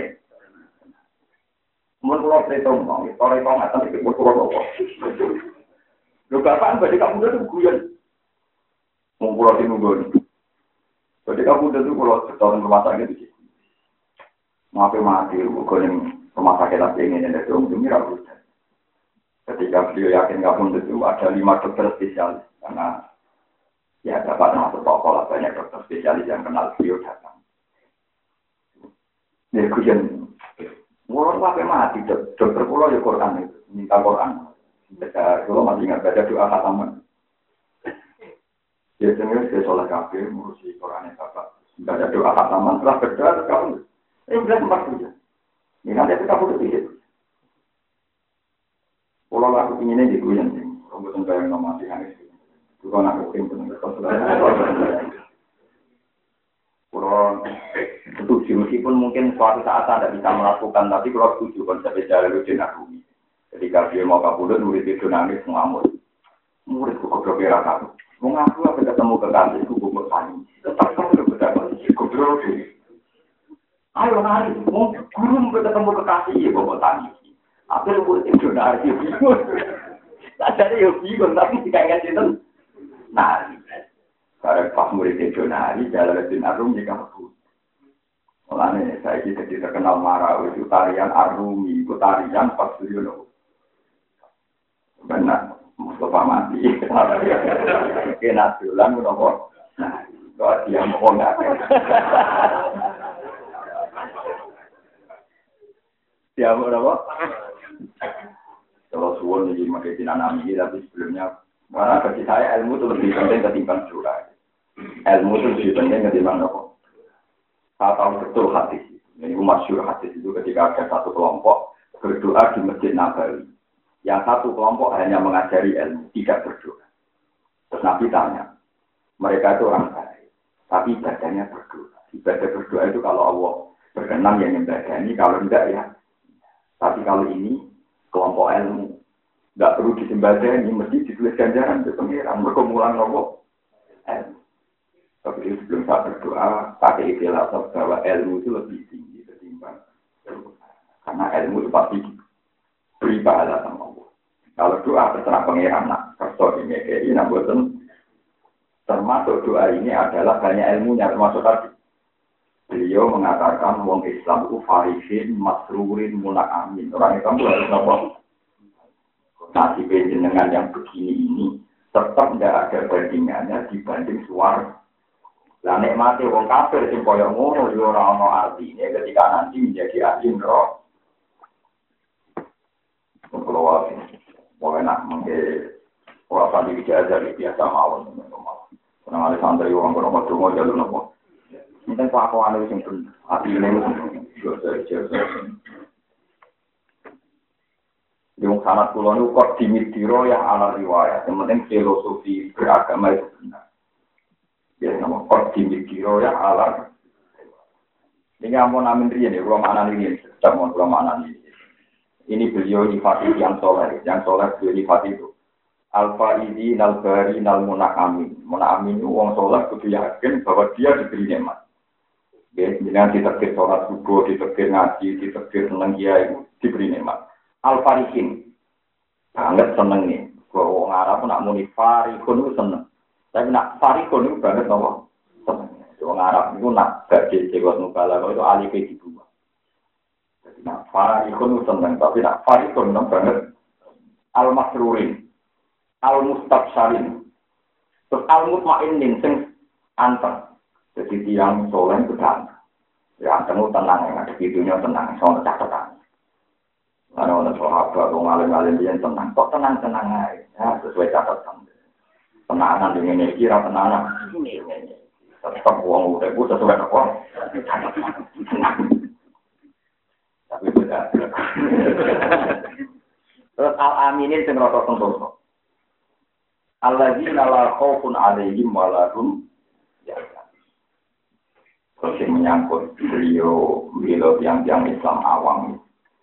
Mun kula cerita mong, sore kok ngaten iki kula kok. Lho bapak badhe kamu itu guyon. Wong kula tinunggu. Badhe kamu itu kula setahun rumah sakit iki. Maaf mati kok ning rumah sakit lagi ini ada dong demi rakyat. Ketika beliau yakin kamu itu ada lima dokter spesialis karena ya dapat masuk toko lah banyak dokter spesialis yang kenal beliau datang. Dia kujen, orang apa mati dokter pulau ya Quran itu minta Quran. Baca kalau masih ingat baca doa khataman. Biasanya saya sholat kafir ngurusi Quran yang bapak baca doa khataman setelah berdoa terus kamu eh bilang tempat saja. Ini nanti kita butuh pikir. Kalau aku inginnya di guyon sih, kalau bukan bayang nama sih hanis. Kalau aku ingin benar kalau setuju meskipun mungkin suatu saat tidak bisa melakukan, tapi kalau setuju konsep Jalaluddin Arumi. Ketika dia mau kabudut, murid itu nangis mengamuk. Murid kok goblok ya kamu. Mengaku apa ketemu kekasih ku goblok tani. Tetap kamu berdebat goblok. Ayo nari, mau guru ketemu kekasih ya bapak tani. Apa lu buat itu nari? Tak ada yang bingung tapi tidak ingat itu nari. Karena pas murid itu nari, Jalaluddin Arumi jika aku. Mulanya saya kita tidak kenal marah itu tarian Arumi, itu tarian pas dulu. Benar, Mustafa mati. Kena tulang menopor. Nah, kalau dia mau nggak? Ya, berapa? Kalau suwon jadi makai dinamik, tapi sebelumnya, karena bagi saya ilmu itu lebih penting ketimbang doa. Ilmu itu lebih penting ketimbang apa? Saya tahu betul hadis. Ini masyhur hadis itu ketika ada satu kelompok berdoa di Masjid Nabawi. Yang satu kelompok hanya mengajari ilmu, tidak berdoa. Terus Nabi tanya, mereka itu orang baik, tapi ibadahnya berdoa. Ibadah berdoa itu kalau Allah berkenan yang nyembadani, kalau tidak ya. Tapi kalau ini kelompok ilmu nggak perlu disembadani, mesti ditulis ganjaran ke pengiran. Berkumulan kelompok ilmu. Tapi sebelum saya berdoa, pakai istilah bahwa ilmu itu lebih tinggi ketimbang ilmu. Karena ilmu itu pasti beri pahala sama Allah. Kalau doa terserah pengiran, nak kerso ini kayak ini, namun termasuk doa ini adalah banyak ilmunya, termasuk tadi. Beliau mengatakan wong Islam itu farihin, masrurin, munakamin. Orang Islam itu harus apa? Nasib jenengan yang begini ini tetap tidak ada bandingannya dibanding suara. Lah nikmati wong kafir sing kaya ngono yo ora ana artine ketika nanti menjadi ahli neraka. Kalau wali, mau enak mungkin orang tadi bicara dari biasa mawon. Karena ada santri orang orang berdua jalur nopo. Mungkin kelakuan itu yang benar. Hati ini yang sangat pulau itu kok dimitiro yang ala riwayat. Yang penting filosofi beragama itu benar. Ya, nama kok dimitiro yang ala. Ini yang mau namin rian ya, belum anan ini, tidak mau belum anan ini. Ini beliau nifati yang soleh, yang soleh beliau nifati itu. Al-Fa'idi, Nal-Bari, Nal-Munakamin. Munakamin itu orang soleh kudu yakin bahwa dia diberi nikmat. Ya, dengan ditekir sholat subuh, ditekir ngaji, ditekir seneng kiai itu diberi nikmat. Al-Farihin, banget seneng nih. Kalau orang Arab nak muni Farihun itu seneng. Tapi nak Farihun itu banget nopo seneng. Orang Arab itu nak gaji jewat nukala itu alih ke dibuat. Jadi nak Farihun itu seneng, tapi nak Farihun itu banget. Al-Masrurin, Al-Mustabsharin, terus Al-Mutmainin sing anteng. Jadi tiang soleh itu tenang. Ya anteng itu tenang, yang ada di dunia tenang, soal catatan. Karena orang sahabat, orang alim-alim dia tenang, kok tenang-tenang aja, ya, sesuai catatan. Tenangan dengan energi, tenangan. Tetap uang udah itu sesuai apa? Tapi beda. Terus al-aminin sing rasa sentosa. Alladzina la khaufun 'alaihim wa la hum Terus yang menyangkut beliau beliau yang yang Islam awam,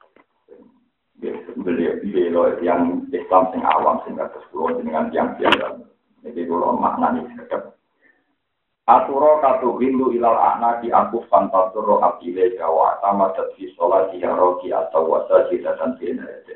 beliau beliau yang Islam sing awam sehingga terus dengan yang biasa. Jadi kalau maknanya sedap. Aturo katu hindu ilal anak di aku fantasuro abile jawa sama tersi sholat di roki atau wasa dan tindakan.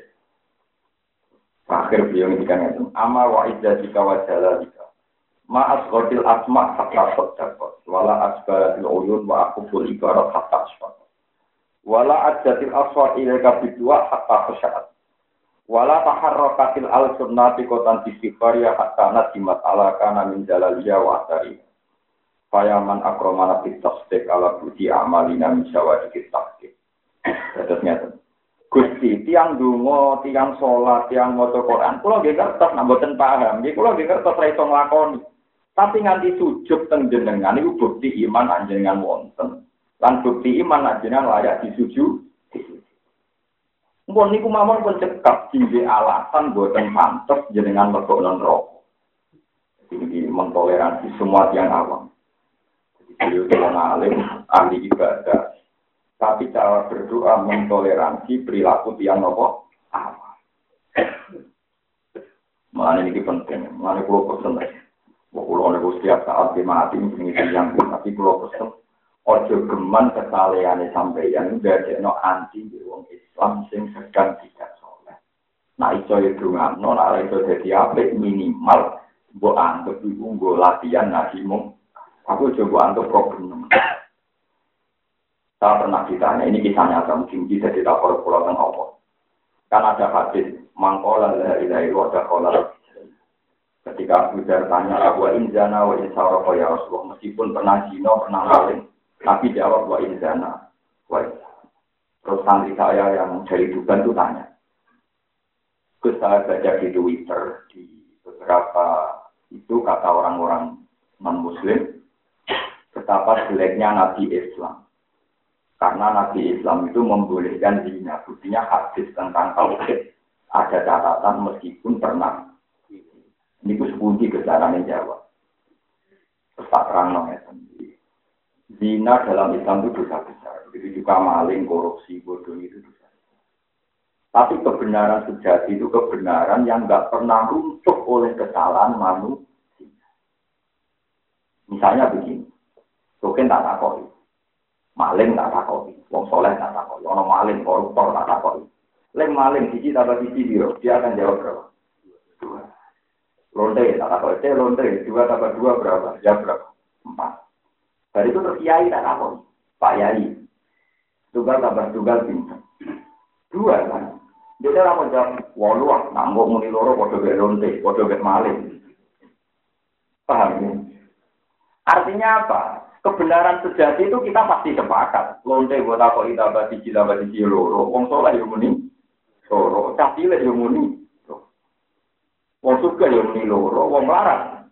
Akhir beliau ngendikan itu ama wa idza jika wajala jika ma asqatil asma hatta sadaqat wala asbaratil uyun wa aquful ibarat hatta asfat wala adjatil aswar ilaika bidua hatta khashat wala taharrakatil al sunnati qotan istighfar ya hatta nadimat ala kana min jalaliya wa atari fayaman akramana fit tasdiq ala budi amalina min syawadikit tasdiq. Terus nyata Gusti, tiang dungo, tiang sholat, tiang maca Quran, kula nggih kertas nek mboten paham, nggih kula nggih kertas ra iso nglakoni. Tapi nganti sujud teng jenengan niku bukti iman anjenengan wonten. Lan bukti iman anjenengan layak disujud. Mbon niku mawon pun cekap dingge alasan mboten pantes jenengan lebokno neraka. Jadi mentoleransi semua tiang awam. Jadi beliau alim, ahli ibadah. Tapi cara berdoa mentoleransi perilaku tiang nopo awam. Mana ini penting, mana pulau pesen. Pulau ini setiap saat dimati ini yang tapi pulau pesen. Ojo geman kesalehan sampeyan dari no anti di wong Islam sing sedang tidak soleh. Nah itu itu ngano, nah itu jadi apa minimal buat antuk ibu gue latihan nasimu. Aku coba antuk problem. Saya pernah ditanya, ini kisahnya agak mungkin bisa kita pulau tentang apa. Kan ada hadis mangkola dari dari wadah kola. Ketika Abu Dar tanya, wa inzana wa insara ya Rasulullah, meskipun pernah zina, pernah maling, tapi jawab wa inzana. Wa terus santri saya yang dari Tuban itu tanya. Terus saya baca di Twitter, di beberapa itu kata orang-orang non-Muslim, betapa jeleknya Nabi Islam. Karena Nabi Islam itu membolehkan zina. Buktinya hadis tentang tauhid. Ada catatan meskipun pernah. Ini ku sepuji kejaran yang Jawa. Terus tak terang ya. Zina dalam Islam itu dosa besar. Begitu juga maling, korupsi, bodoh itu dosa. Tapi kebenaran sejati itu kebenaran yang nggak pernah runtuh oleh kesalahan manusia. Misalnya begini. Mungkin tak takoi. Maling tak takoi, wong soleh tak takoi, ono maling koruptor tak takoi. Leng maling siji tambah siji biro, dia akan jawab berapa? Dua. Lonte tak takoi, teh lonte dua tambah dua berapa? Jawab berapa? Empat. Dari itu terus kiai tak takoi, Pak Yai. Tunggal tambah tunggal bintang. Dua kan? Dia orang menjawab, walu ah, nambok muni loro, podo gak lonte, podo gak maling. Paham ya? Artinya apa? Kebenaran sejati itu kita pasti sepakat. Lonte buat apa kita bati cila bati cilo. Wong soleh yang muni, loro. Cacile yang muni, wong surga yang muni loro. Wong larang.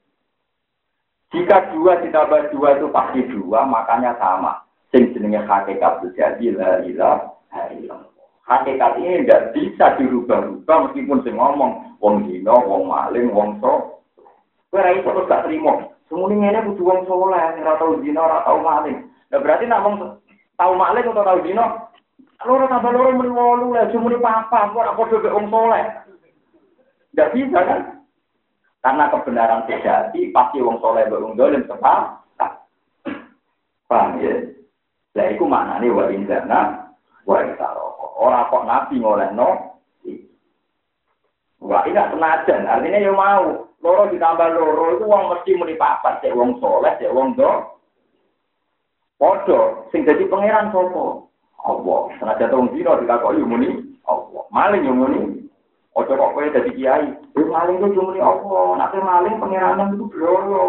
Jika dua ditambah dua itu pasti dua, makanya sama. Sing jenenge hakikat sejati la ilaha illallah. Hakikat ini tidak bisa dirubah-rubah meskipun sing ngomong wong dino, wong maling, wong so. Ora iso terus gak trimo. Semuanya ini kudu wong soleh, ora tau zina, ora tau maling. Nah berarti nak wong tau maling atau tau zina, loro tambah loro muni wolu lah, cuma muni papa, ora padha mek wong soleh. Enggak bisa kan? Karena kebenaran sejati pasti wong soleh mbek wong dolim sepakat. Paham ya? Lah iku maknane wa inzana wa isaroko. Ora kok nabi ngolehno. Wah, ini senajan, artinya ya mau. Loro ditambah loro itu wong mesti muni papat, cek wong soleh, cek wong do. Podo, sing dadi pangeran sapa? Allah. Senajan wong dina dikakoki muni Allah. Maling yo muni. Ojo kok kowe dadi kiai. Yo maling ku muni Allah, nek maling pangeranan itu bloro.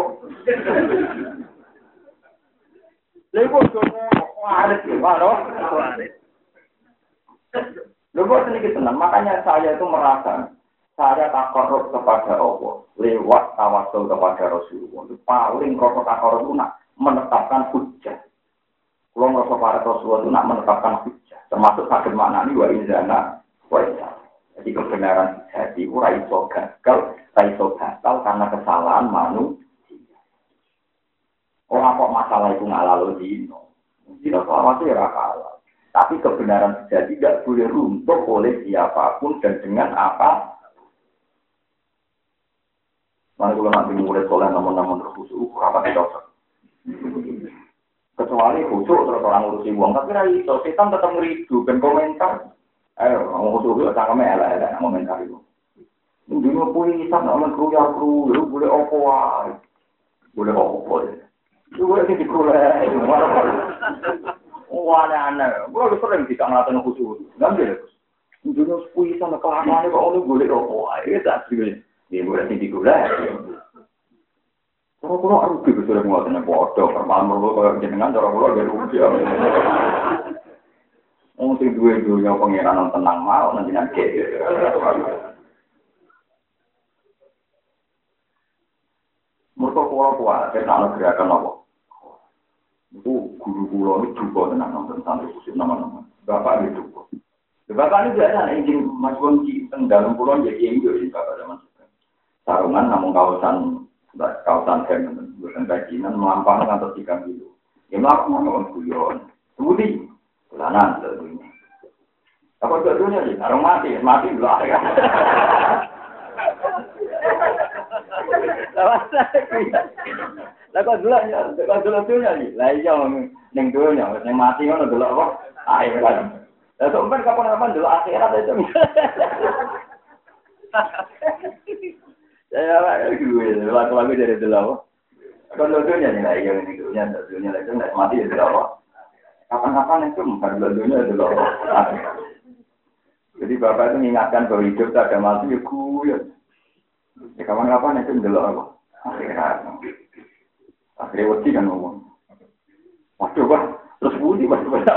Lha kok ngono kok arep yo, lho. Lho kok seniki tenan, makanya saya itu merasa saya takarrub kepada Allah lewat tawasul kepada Rasulullah. Paling rasa takarrub itu nak menetapkan hujjah. Kalau rasa para Rasulullah itu nak menetapkan hujjah. Termasuk sakit makna ini wa inzana wa inzana. Jadi kebenaran jadi ora iso gagal, ora iso batal karena kesalahan manusia. Ora kok masalah salah itu ngalalo dino. Dino selama itu ya halal. Tapi kebenaran sejati tidak boleh runtuh oleh siapapun dan dengan apa. Mana kalau nanti mulai soleh namun-namun terkhusus, apa tidak usah. Kecuali khusus terus orang ngurusi uang, tapi rai itu setan tetap ngeridu dan komentar. Ayo, orang khusus itu cangkeme elek-elek komentar itu. Dino pun isap namun keruya keruya, boleh apa wae. Boleh apa ya. Itu boleh dikulai. Wah, aneh-aneh. Gue lebih sering tidak ngeliatin khusus. Ngambil. Dino sepuluh isap kelamaan kok orang boleh apa wae. Itu tak sih. Dia boleh dikulai. Kalau-kalau rugi ke sudah menguatnya bodoh, permalam mereka kalau jenengan, cara-cara dia rugi. Mungkin dua-duanya pengiran tenang mau, nanti nanti. Mereka kuat-kuat, saya nak gerakan apa? Itu guru-guru itu juga tenang nonton santri khusus nama-nama. Bapak itu juga. Bapak ini biasa, ingin masuk ke dalam pulau jadi ingin jadi bapak zaman sekarang. Sarungan namun kawasan kawasan hem bukan kajian melampau atau tiga kilo. Ya melakukan orang guyon. Kemudian bulanan tentunya. Apa tentunya sih? Orang mati, mati belah ya. Lah kok dulu ya, kok dulu dunia sih. Lah iya ning dunia, ning mati ngono delok apa? Ayo kan. Lah sampean kapan-kapan delok akhirat itu. Ya, gue lagu-lagu dari dulu. Kalau dunia nih, lagi yang ini dunia, dunia lagi nggak mati ya dulu. Kapan-kapan itu bukan dunia dulu. Jadi bapak itu mengingatkan bahwa hidup tak ada mati ya gue. Ya kapan-kapan itu dulu apa? Akhirat. Akhirnya waktu kan ngomong. Waduh bah, terus budi mas banyak.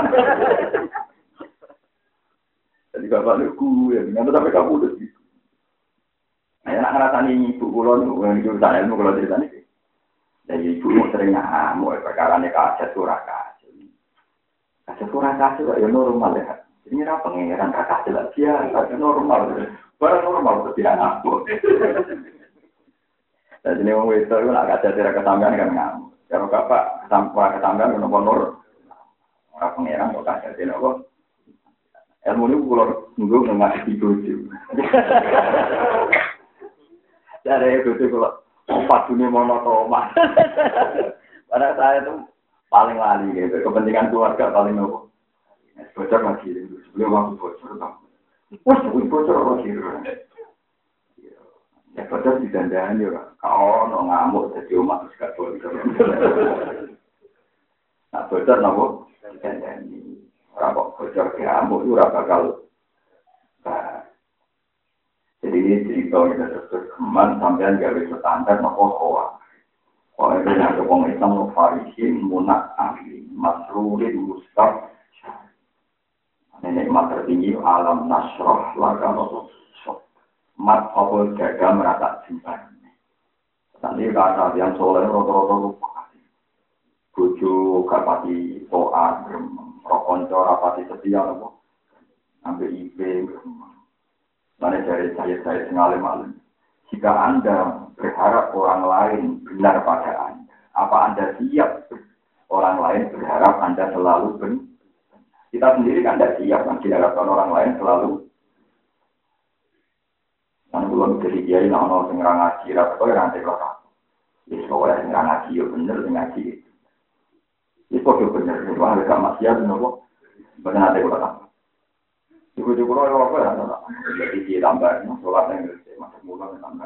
Jadi bapak itu gue, nggak sampai kamu udah gitu. Nah, nak ngerasani ibu kulon, ibu sana ilmu kulon cerita ni. Jadi ibu mau sering ngamuk, perkara ni kaset surah kaset. Kaset surah kaset ya normal ya. Ini apa pengeran kaset lah dia, kaset normal. Barang normal tu dia ngamuk. Jadi ni orang itu nak kaset surah kesambian kan ngamuk. Kalau bapak kesambian kesambian kan nomor orang pengeran kok kaset dia apa? Ilmu ni kulon nunggu nggak tidur tu. Dari itu kalau empat dunia monotomas. Pada saya itu paling lali gitu. Kepentingan keluarga paling nopo. Bocor lagi itu. Sebelum waktu bocor tak. Wah, sebelum bocor lagi. Ya bocor di dandan juga. Kau no ngamuk jadi umat sekat bocor. Nah bocor nopo. Dandan ini. Orang bocor ngamuk itu rasa bakal. Jadi ini cerita kita terus keman sampai gawe standar nopo koa. Koa itu yang orang Islam Farisin munak ahli masrurin mustaf. Nenek mat tertinggi alam nasroh laga nopo sok. Mat apa jaga merata simpan. Nanti kata yang soleh roto-roto lupa. Bojo kapati toat, rokonco rapati setia nopo. Ambil ibe. Mana dari saya-saya sengalim-alim. Jika Anda berharap orang lain benar pada Anda, apa Anda siap orang lain berharap Anda selalu benar? Kita sendiri kan tidak siap, kan diharapkan orang lain selalu. Kan belum jadi kiai, nah-nah sengerang ngaji, rapat yang nanti kelakar. Ya, soalnya sengerang ngaji, ya benar, ngaji itu. Ini kok benar, itu harga maksiat, benar, benar nanti kelakar. Ibu-ibu kalau apa ya, jadi dia tambah, sholat yang gede, masuk mulut tambah.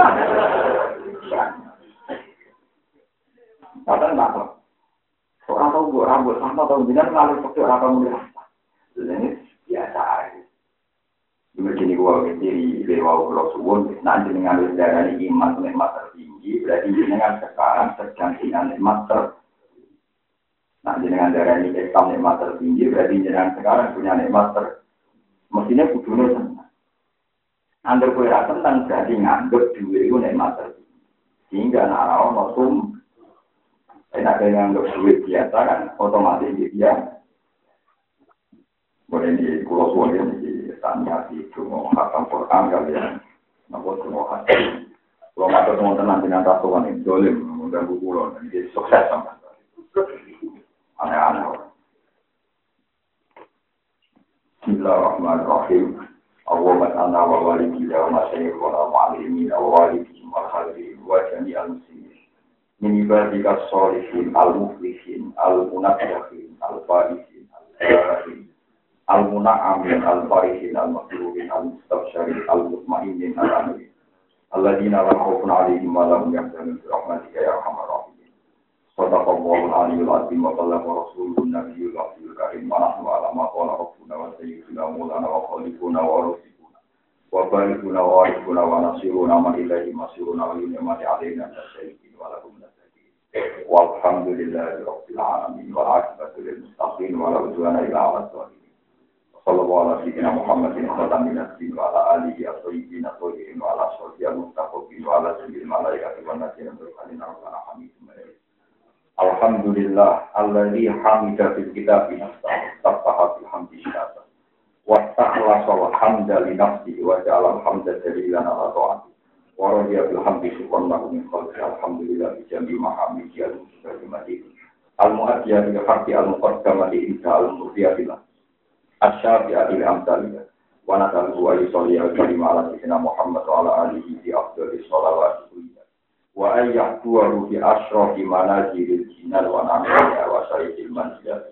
Kadang tak tahu. Orang tahu buat rambut sama tahu jinak ngalir seperti orang tahu dia. Ini biasa aja. Dulu gini gua sendiri lewat pulau Suwon, nanti dengan darah iman nikmat tertinggi, berarti dengan sekarang sedang dengan nikmat ter. Nanti dengan darah ini Islam nikmat tertinggi, berarti dengan sekarang punya nikmat ter. Mestinya kudunya senang. Angger kowe ra seneng berarti nganggep duwe iku nikmat tertinggi. Sehingga nek ora ono sum enak nganggep duwe biasa kan otomatis dia boleh di pulau Suwon ini tanya di cuma hafal Quran kalian. Napa cuma hafal. Kalau matur teman-teman dengan rasulan ini dolim mengganggu pulau dan dia sukses sama. Aneh-aneh. Bismillahirrahmanirrahim. Allahumma anna wa walidina wa masyayikhuna wa alimina wa walidina wa hadirin wa jami'al muslimin. Min ibadika sholihin al-muflihin al-munaffihin al-faihin al-faihin al-muna'amin al-farihin al-makruhin al-mustabshirin al-mutmainin al-amin. Alladzina la khaufun 'alaihim wa la hum yahzanun bi rahmatika ya arhamar rahimin. Sadaqallahu al-'aliyyul 'azim wa ballaga rasulun nabiyyul karim wa nahnu 'ala ma qala rabbuna wa sayyiduna maulana wa khaliquna wa rasuluna wa barikuna wa arifuna wa nasiruna man ilahi masiruna wa ni'mati 'alaina tasyai'in wa lahum nasakin. Walhamdulillahi rabbil 'alamin wa 'aqibatu lil muttaqin wa la 'udwana illa 'alal zalimin. Sallallahu alaihi wa Muhammadin khatamin nabiyyin wa ala alihi at-thayyibin at-tahirin wa ala sahbihi al-muttaqin wa ala jami'il malaikati wan nabiyyin wa ala hamidum majid. Alhamdulillah alladzi hamida fil kitabi nafsahu tafaha fil hamdi syata wa ta'ala wa hamda li nafsihi wa ja'ala al-hamda dalilan ala ta'ati wa radiya bil hamdi subhanahu min khalqi alhamdulillah bi jami' mahamidi al-muslimati al-mu'addiya bi haqqi al-muqaddamati inda al-mudhiyatillah asy-syafi'ati al-amsaliyah wa natalu wa yusalli al-karim ala sayyidina Muhammad wa ala alihi bi afdhalis shalawat wa ayyatuhu bi asyrafi manazilil jinan wa namiya wa sayyidil manzilat.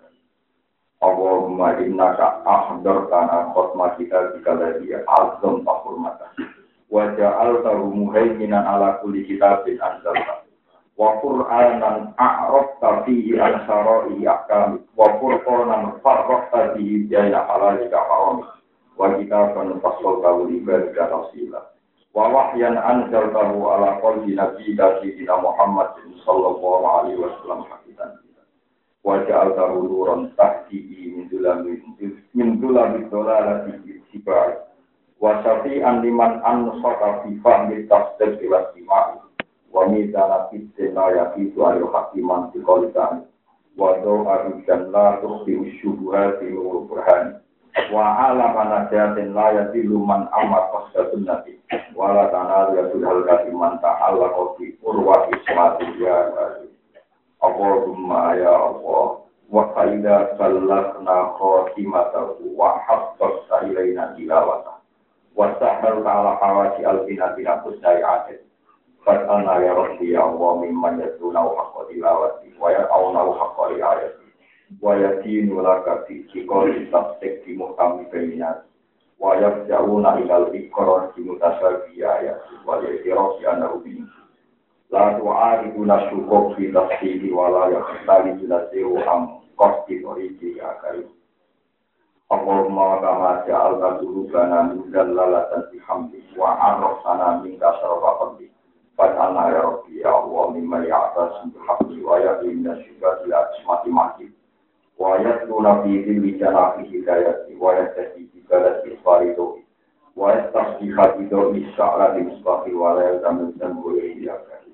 Allahumma innaka ahdartana khutmah kita bikalladhi azam tahurmata wa ja'altahu muhaiminan ala kulli kitabin anzalta wa qur'anan a'rafta fihi al-syara'i ahkam wa qur'anan farraqta fihi baina halalika haram wa kitaban fassaltahu li ibadika tafsila wa wahyan anzaltahu ala qalbi nabiyyika sayyidina Muhammadin sallallahu alaihi wasallam hakikan wa ja'altahu nuran tahdihi min dhulami min dhulami dhalalati sibai wa syafi'an liman ansata fi fahmi tafsir wa istimai wa mizana fi tinayati wa hakiman fi qalitan wa do'a dan la tukhfi syubuhati wa burhan wa ala manajatin la yadilu man amat qasdatun nabi wa la tanal yasul halqati man ta'alla fi urwati ismati ya Allahumma ya Allah wa qaida sallakna khatimatahu wa haqqta ilaina tilawata wa sahal ta'ala hawati al-binatina kusayyatin fat'alna ya Rabbi ya Allah mimman yaduna haqqa tilawati wa ya'auna haqqa riayati wa yatinu laka fi qawli tafsik di muhkami bainat wa yafja'una ilal ikrar di mutasabiya wa yatirafi anahu bin la tu'aribuna syukuk fi tafsiri wa la yakhtali jilasiru am qasti oriji akari Allahumma wa kama ja'alna dulubana mudallalatan bihamdi wa arrafana minka syarafa qabdi fat'alna ya Rabbi ya Allah mimma ya'tas bihamdi wa ya'inna syukati asmati mahdi wa yatluna fi dhilli janahi hidayati wa yastahdi bi balati faridu wa yastasbiha bi dawmi sya'la di musbahi wa la yazamu dhanbu iliyaka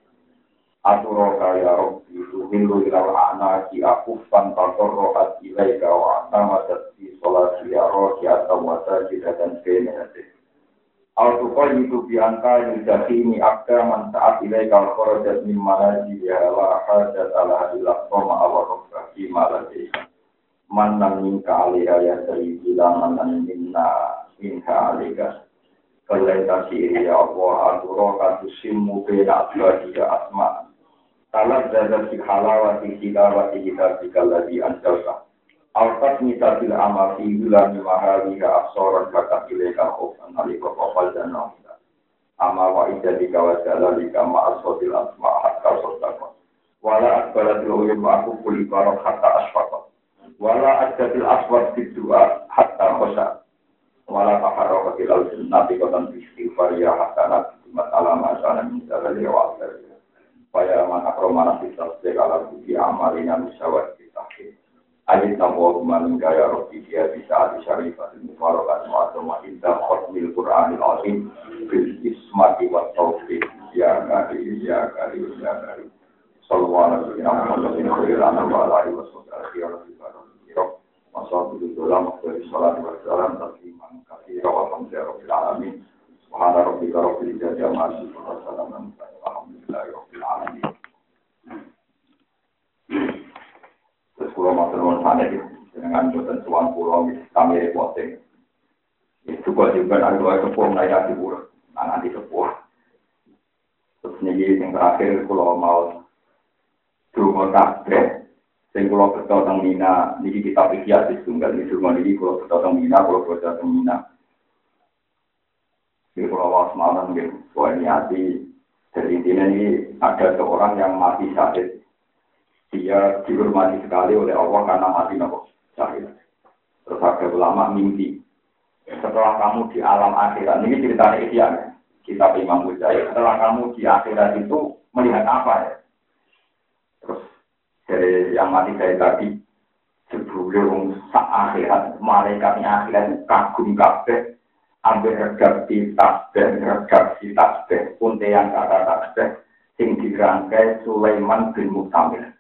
aturaka ya Rabbi tuhillu ilal a'naki akufan tatorrohat ilaika wa atamadat fi sholati ya roki atau wasajidatan fenehati al-tuqayyidu bi'anka yudhahini akdaman saat ilaika al-khorajat mimmanaji ya la hajat ala ilah soma awarokah imaladika mannan minka alaiha ya sayyidi lamanan minna minka alaiha kalaita siri ya Allah aturaka tusimmu bina asbadi ya asma salat zadat si halawati hilawati hitabika ladhi anjalka al-qat misatil amafi gulami mahawiha aksoran kakak ilaika khufan alika kofal dan nahida ama wa ijadika wa jalalika ma'asotil asma hatta sotaka wala akbalatil uyum aku kulibarok hatta asfaka wala ajatil aswad bidua hatta khosa wala taharrokatil al-sunnati kotan istighfar ya hatta nabi masalah masalah misalnya lewat dari supaya man akromana fitasdek ala budi amalina misawat kitahid ajit nabuwa kumanin gaya roki dia bisa adi syarifatil mufarokat mu'adoma indah khutmil Qur'anil azim bil ismati wa taufiq ya kari ya kari ya kari sallallahu alaihi wa sallam wa alaihi wa sallam Wassalamualaikum warahmatullahi wabarakatuh. Alhamdulillahirabbil alamin. Subhana rabbika rabbil izzati amma yasifun wa salamun alal mursalin. Alhamdulillahirabbil alamin. pulau kami repoting. Itu kok juga ada dua sepuh naya di pulau, nanti sepuh. Terus nih yang terakhir pulau mau rumah kafe, yang pulau betul tentang Mina, ini kita pikir di tunggal di rumah ini pulau betul tentang Mina, pulau betul tentang Mina. Di pulau was malam gitu, soal ini hati. Jadi intinya ini ada seorang yang mati syahid. Dia dihormati sekali oleh Allah karena mati nopo syahid. Terus ada ulama mimpi. Setelah kamu di alam akhirat, ini ceritanya Ihya, kita Imam Ghazali. Setelah kamu di akhirat itu melihat apa ya? Terus dari yang mati saya tadi, sebelum saat akhirat, malaikatnya akhirat kagum kabeh, ambil redaksi tasbih, redaksi tasbih, untean kata tasbih, sing dirangkai Sulaiman bin Mu'tamir.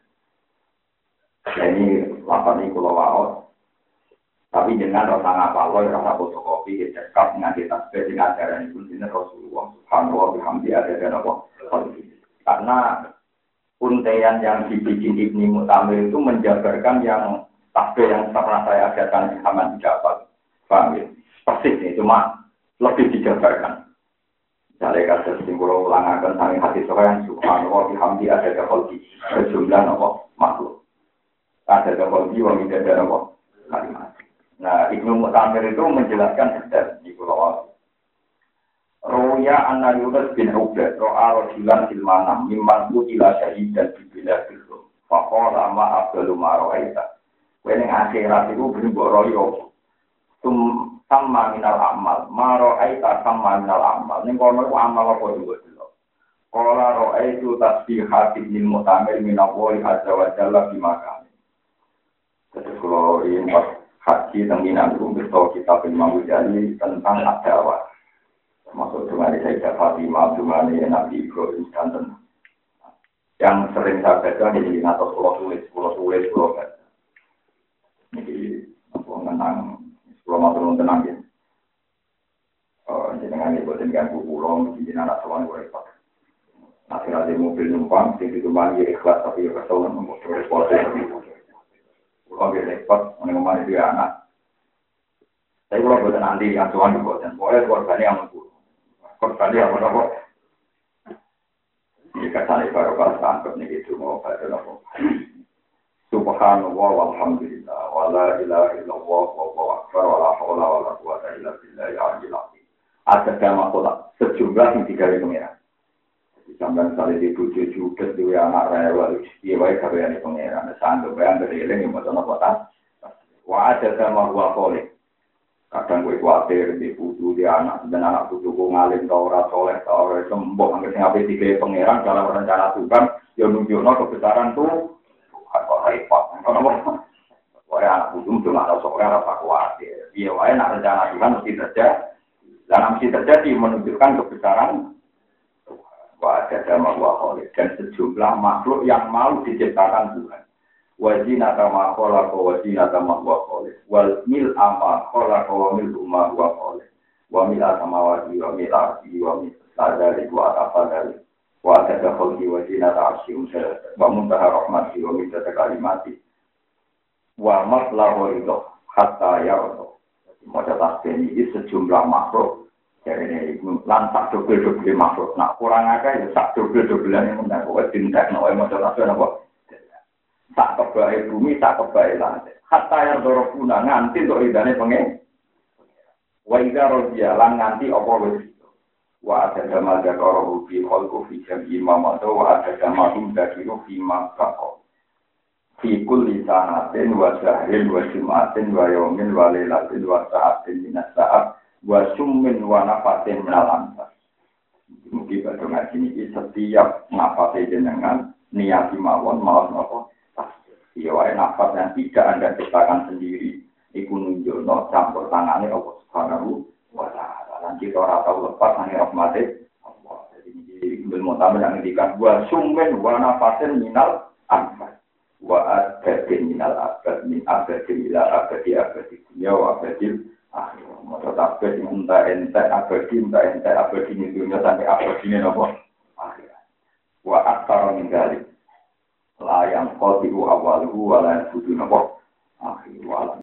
Ini lapan ini kalau waos. Tapi dengan rasa ngapaloi, rasa fotokopi, cekap, nganti tasbih, dengan ajaran itu, ini Rasulullah Subhanahu wa bihamdi ada dan apa. Karena untean yang dibikin Ibni Mu'tamir itu menjabarkan yang tasbih yang pernah saya ajarkan di Haman Jabal. Paham ya? Persis ini, cuma lebih dijabarkan. Misalnya kata simbol ulangakan sangi hati sokan, Subhanahu wa bihamdi ada dan berjumlah apa makhluk. Ada dan wa tidak ada apa kalimat. Nah, Ibnu Mu'tamir itu menjelaskan detail di pulau Roya anna Yunus bin Ubaid ro'a rajulan fil manam mimman qutila syahidan fi biladil rum. Fa qala ma afdalu ma ra'aita. Wene akhirat itu mbok royo. Tum sama minal amal, ma ra'aita sama minal amal. Ning kono ku amal apa juga delok. Qala ra'aitu tasbihat Ibnu Mu'tamir min Allahi azza wa jalla fi makan. Terus kalau ini haji tentang itu beritahu kita Imam Ghazali tentang ad-dawah. Termasuk dengan Sayyidah Fatimah, dengan Nabi Ibrahim dan tentang yang sering saya baca di atau pulau tulis, pulau tulis, pulau baca. Jadi apa tentang pulau matur tenang ya. Oh, jenengan ibu dengan bu pulau, jenengan anak sawan gue repot. Nanti ada mobil numpang, jadi kembali ikhlas tapi kesalahan mengukur repot. Kalau dia repot, mengenai dia anak. Tapi kalau buat nanti yang tuan juga, dan boleh korbannya yang menurut. Korbannya yang menurut. Jika saya baru bahas tangkap nih itu mau pada nopo. Subhanallah walhamdulillah, wala ilaha illallah, wallahu akbar, wala haula wala quwwata illa billahi al-aliyyil azim. Ada tema kota sejumlah yang tiga ribu merah. Sampai sekali di tujuh juta dua anak rewel, iya baik karyanya pengeran. Sanggup bayang dari ini yang macam apa? Wah ada sama gua kolek. Kadang gue khawatir di putu di anak dan anak putu gue ngalim tau ora soleh tau ora sembuh. Angger sing ape tiga pengeran dalam rencana Tuhan, ya nunjukno kebesaran tuh. Tuhan kok repot. Wah anak putu tuh nggak tahu soleh apa khawatir. Iya wae nak rencana Tuhan mesti terjadi. Dan mesti terjadi menunjukkan kebesaran. Wajah sama wahole dan sejumlah makhluk yang mau diciptakan Tuhan. Wajina sama kola ko wajina sama wahole. Wal mil ama kola ko mil umma wahole. Wa mil sama wajib wa mil arti wa mil sadari wa atafadari. Wajah dakol di wajina ta'asyum wa muntaha rahmati wa mil kalimati. Wa matlahu ridho hatta yardo. Wajah tasbih ini sejumlah makhluk. Jadi ini lantak dobel-dobel makhluk. Nah kurang agak ya sak dobel-dobelan yang menang. Kau tindak no emosi nasional apa? Tak kebaik bumi, tak kebaik lantai. Hatta yang dorong guna nganti untuk idane pengen. Wa ida rojialan nganti apa wes. Wa ada gamal jakaro rubi kolku fi jami mamato wa ada gamalum dakiru fi makako. Fi kulli sanatin wa syahrin wa jumatin wa yomin wa lelatin wa sa'atin minas sa'at. Wasummin wa nafatin menalantas. Mungkin pada ngaji ini setiap nafatin jenengan niati mawon mawon apa. Iya wae nafas yang tidak anda ciptakan sendiri. Iku nunjukno campur tangannya Allah Subhanahu wa taala. Lan kita ora tau lepas nang rahmate Allah. Jadi ini ilmu tamu yang ngendikan wasummin wa nafatin minal anfas. Wa adadin minal abad min abadin ila abadi abadi dunia wa abadil akhir. Masa tasbih yang entah entah abadi, entah entah abadi ini dunia sampai abadi ini apa? Akhir. Wa aktar meninggali. Layang kotiku awaluhu wa layang budu apa? Akhir.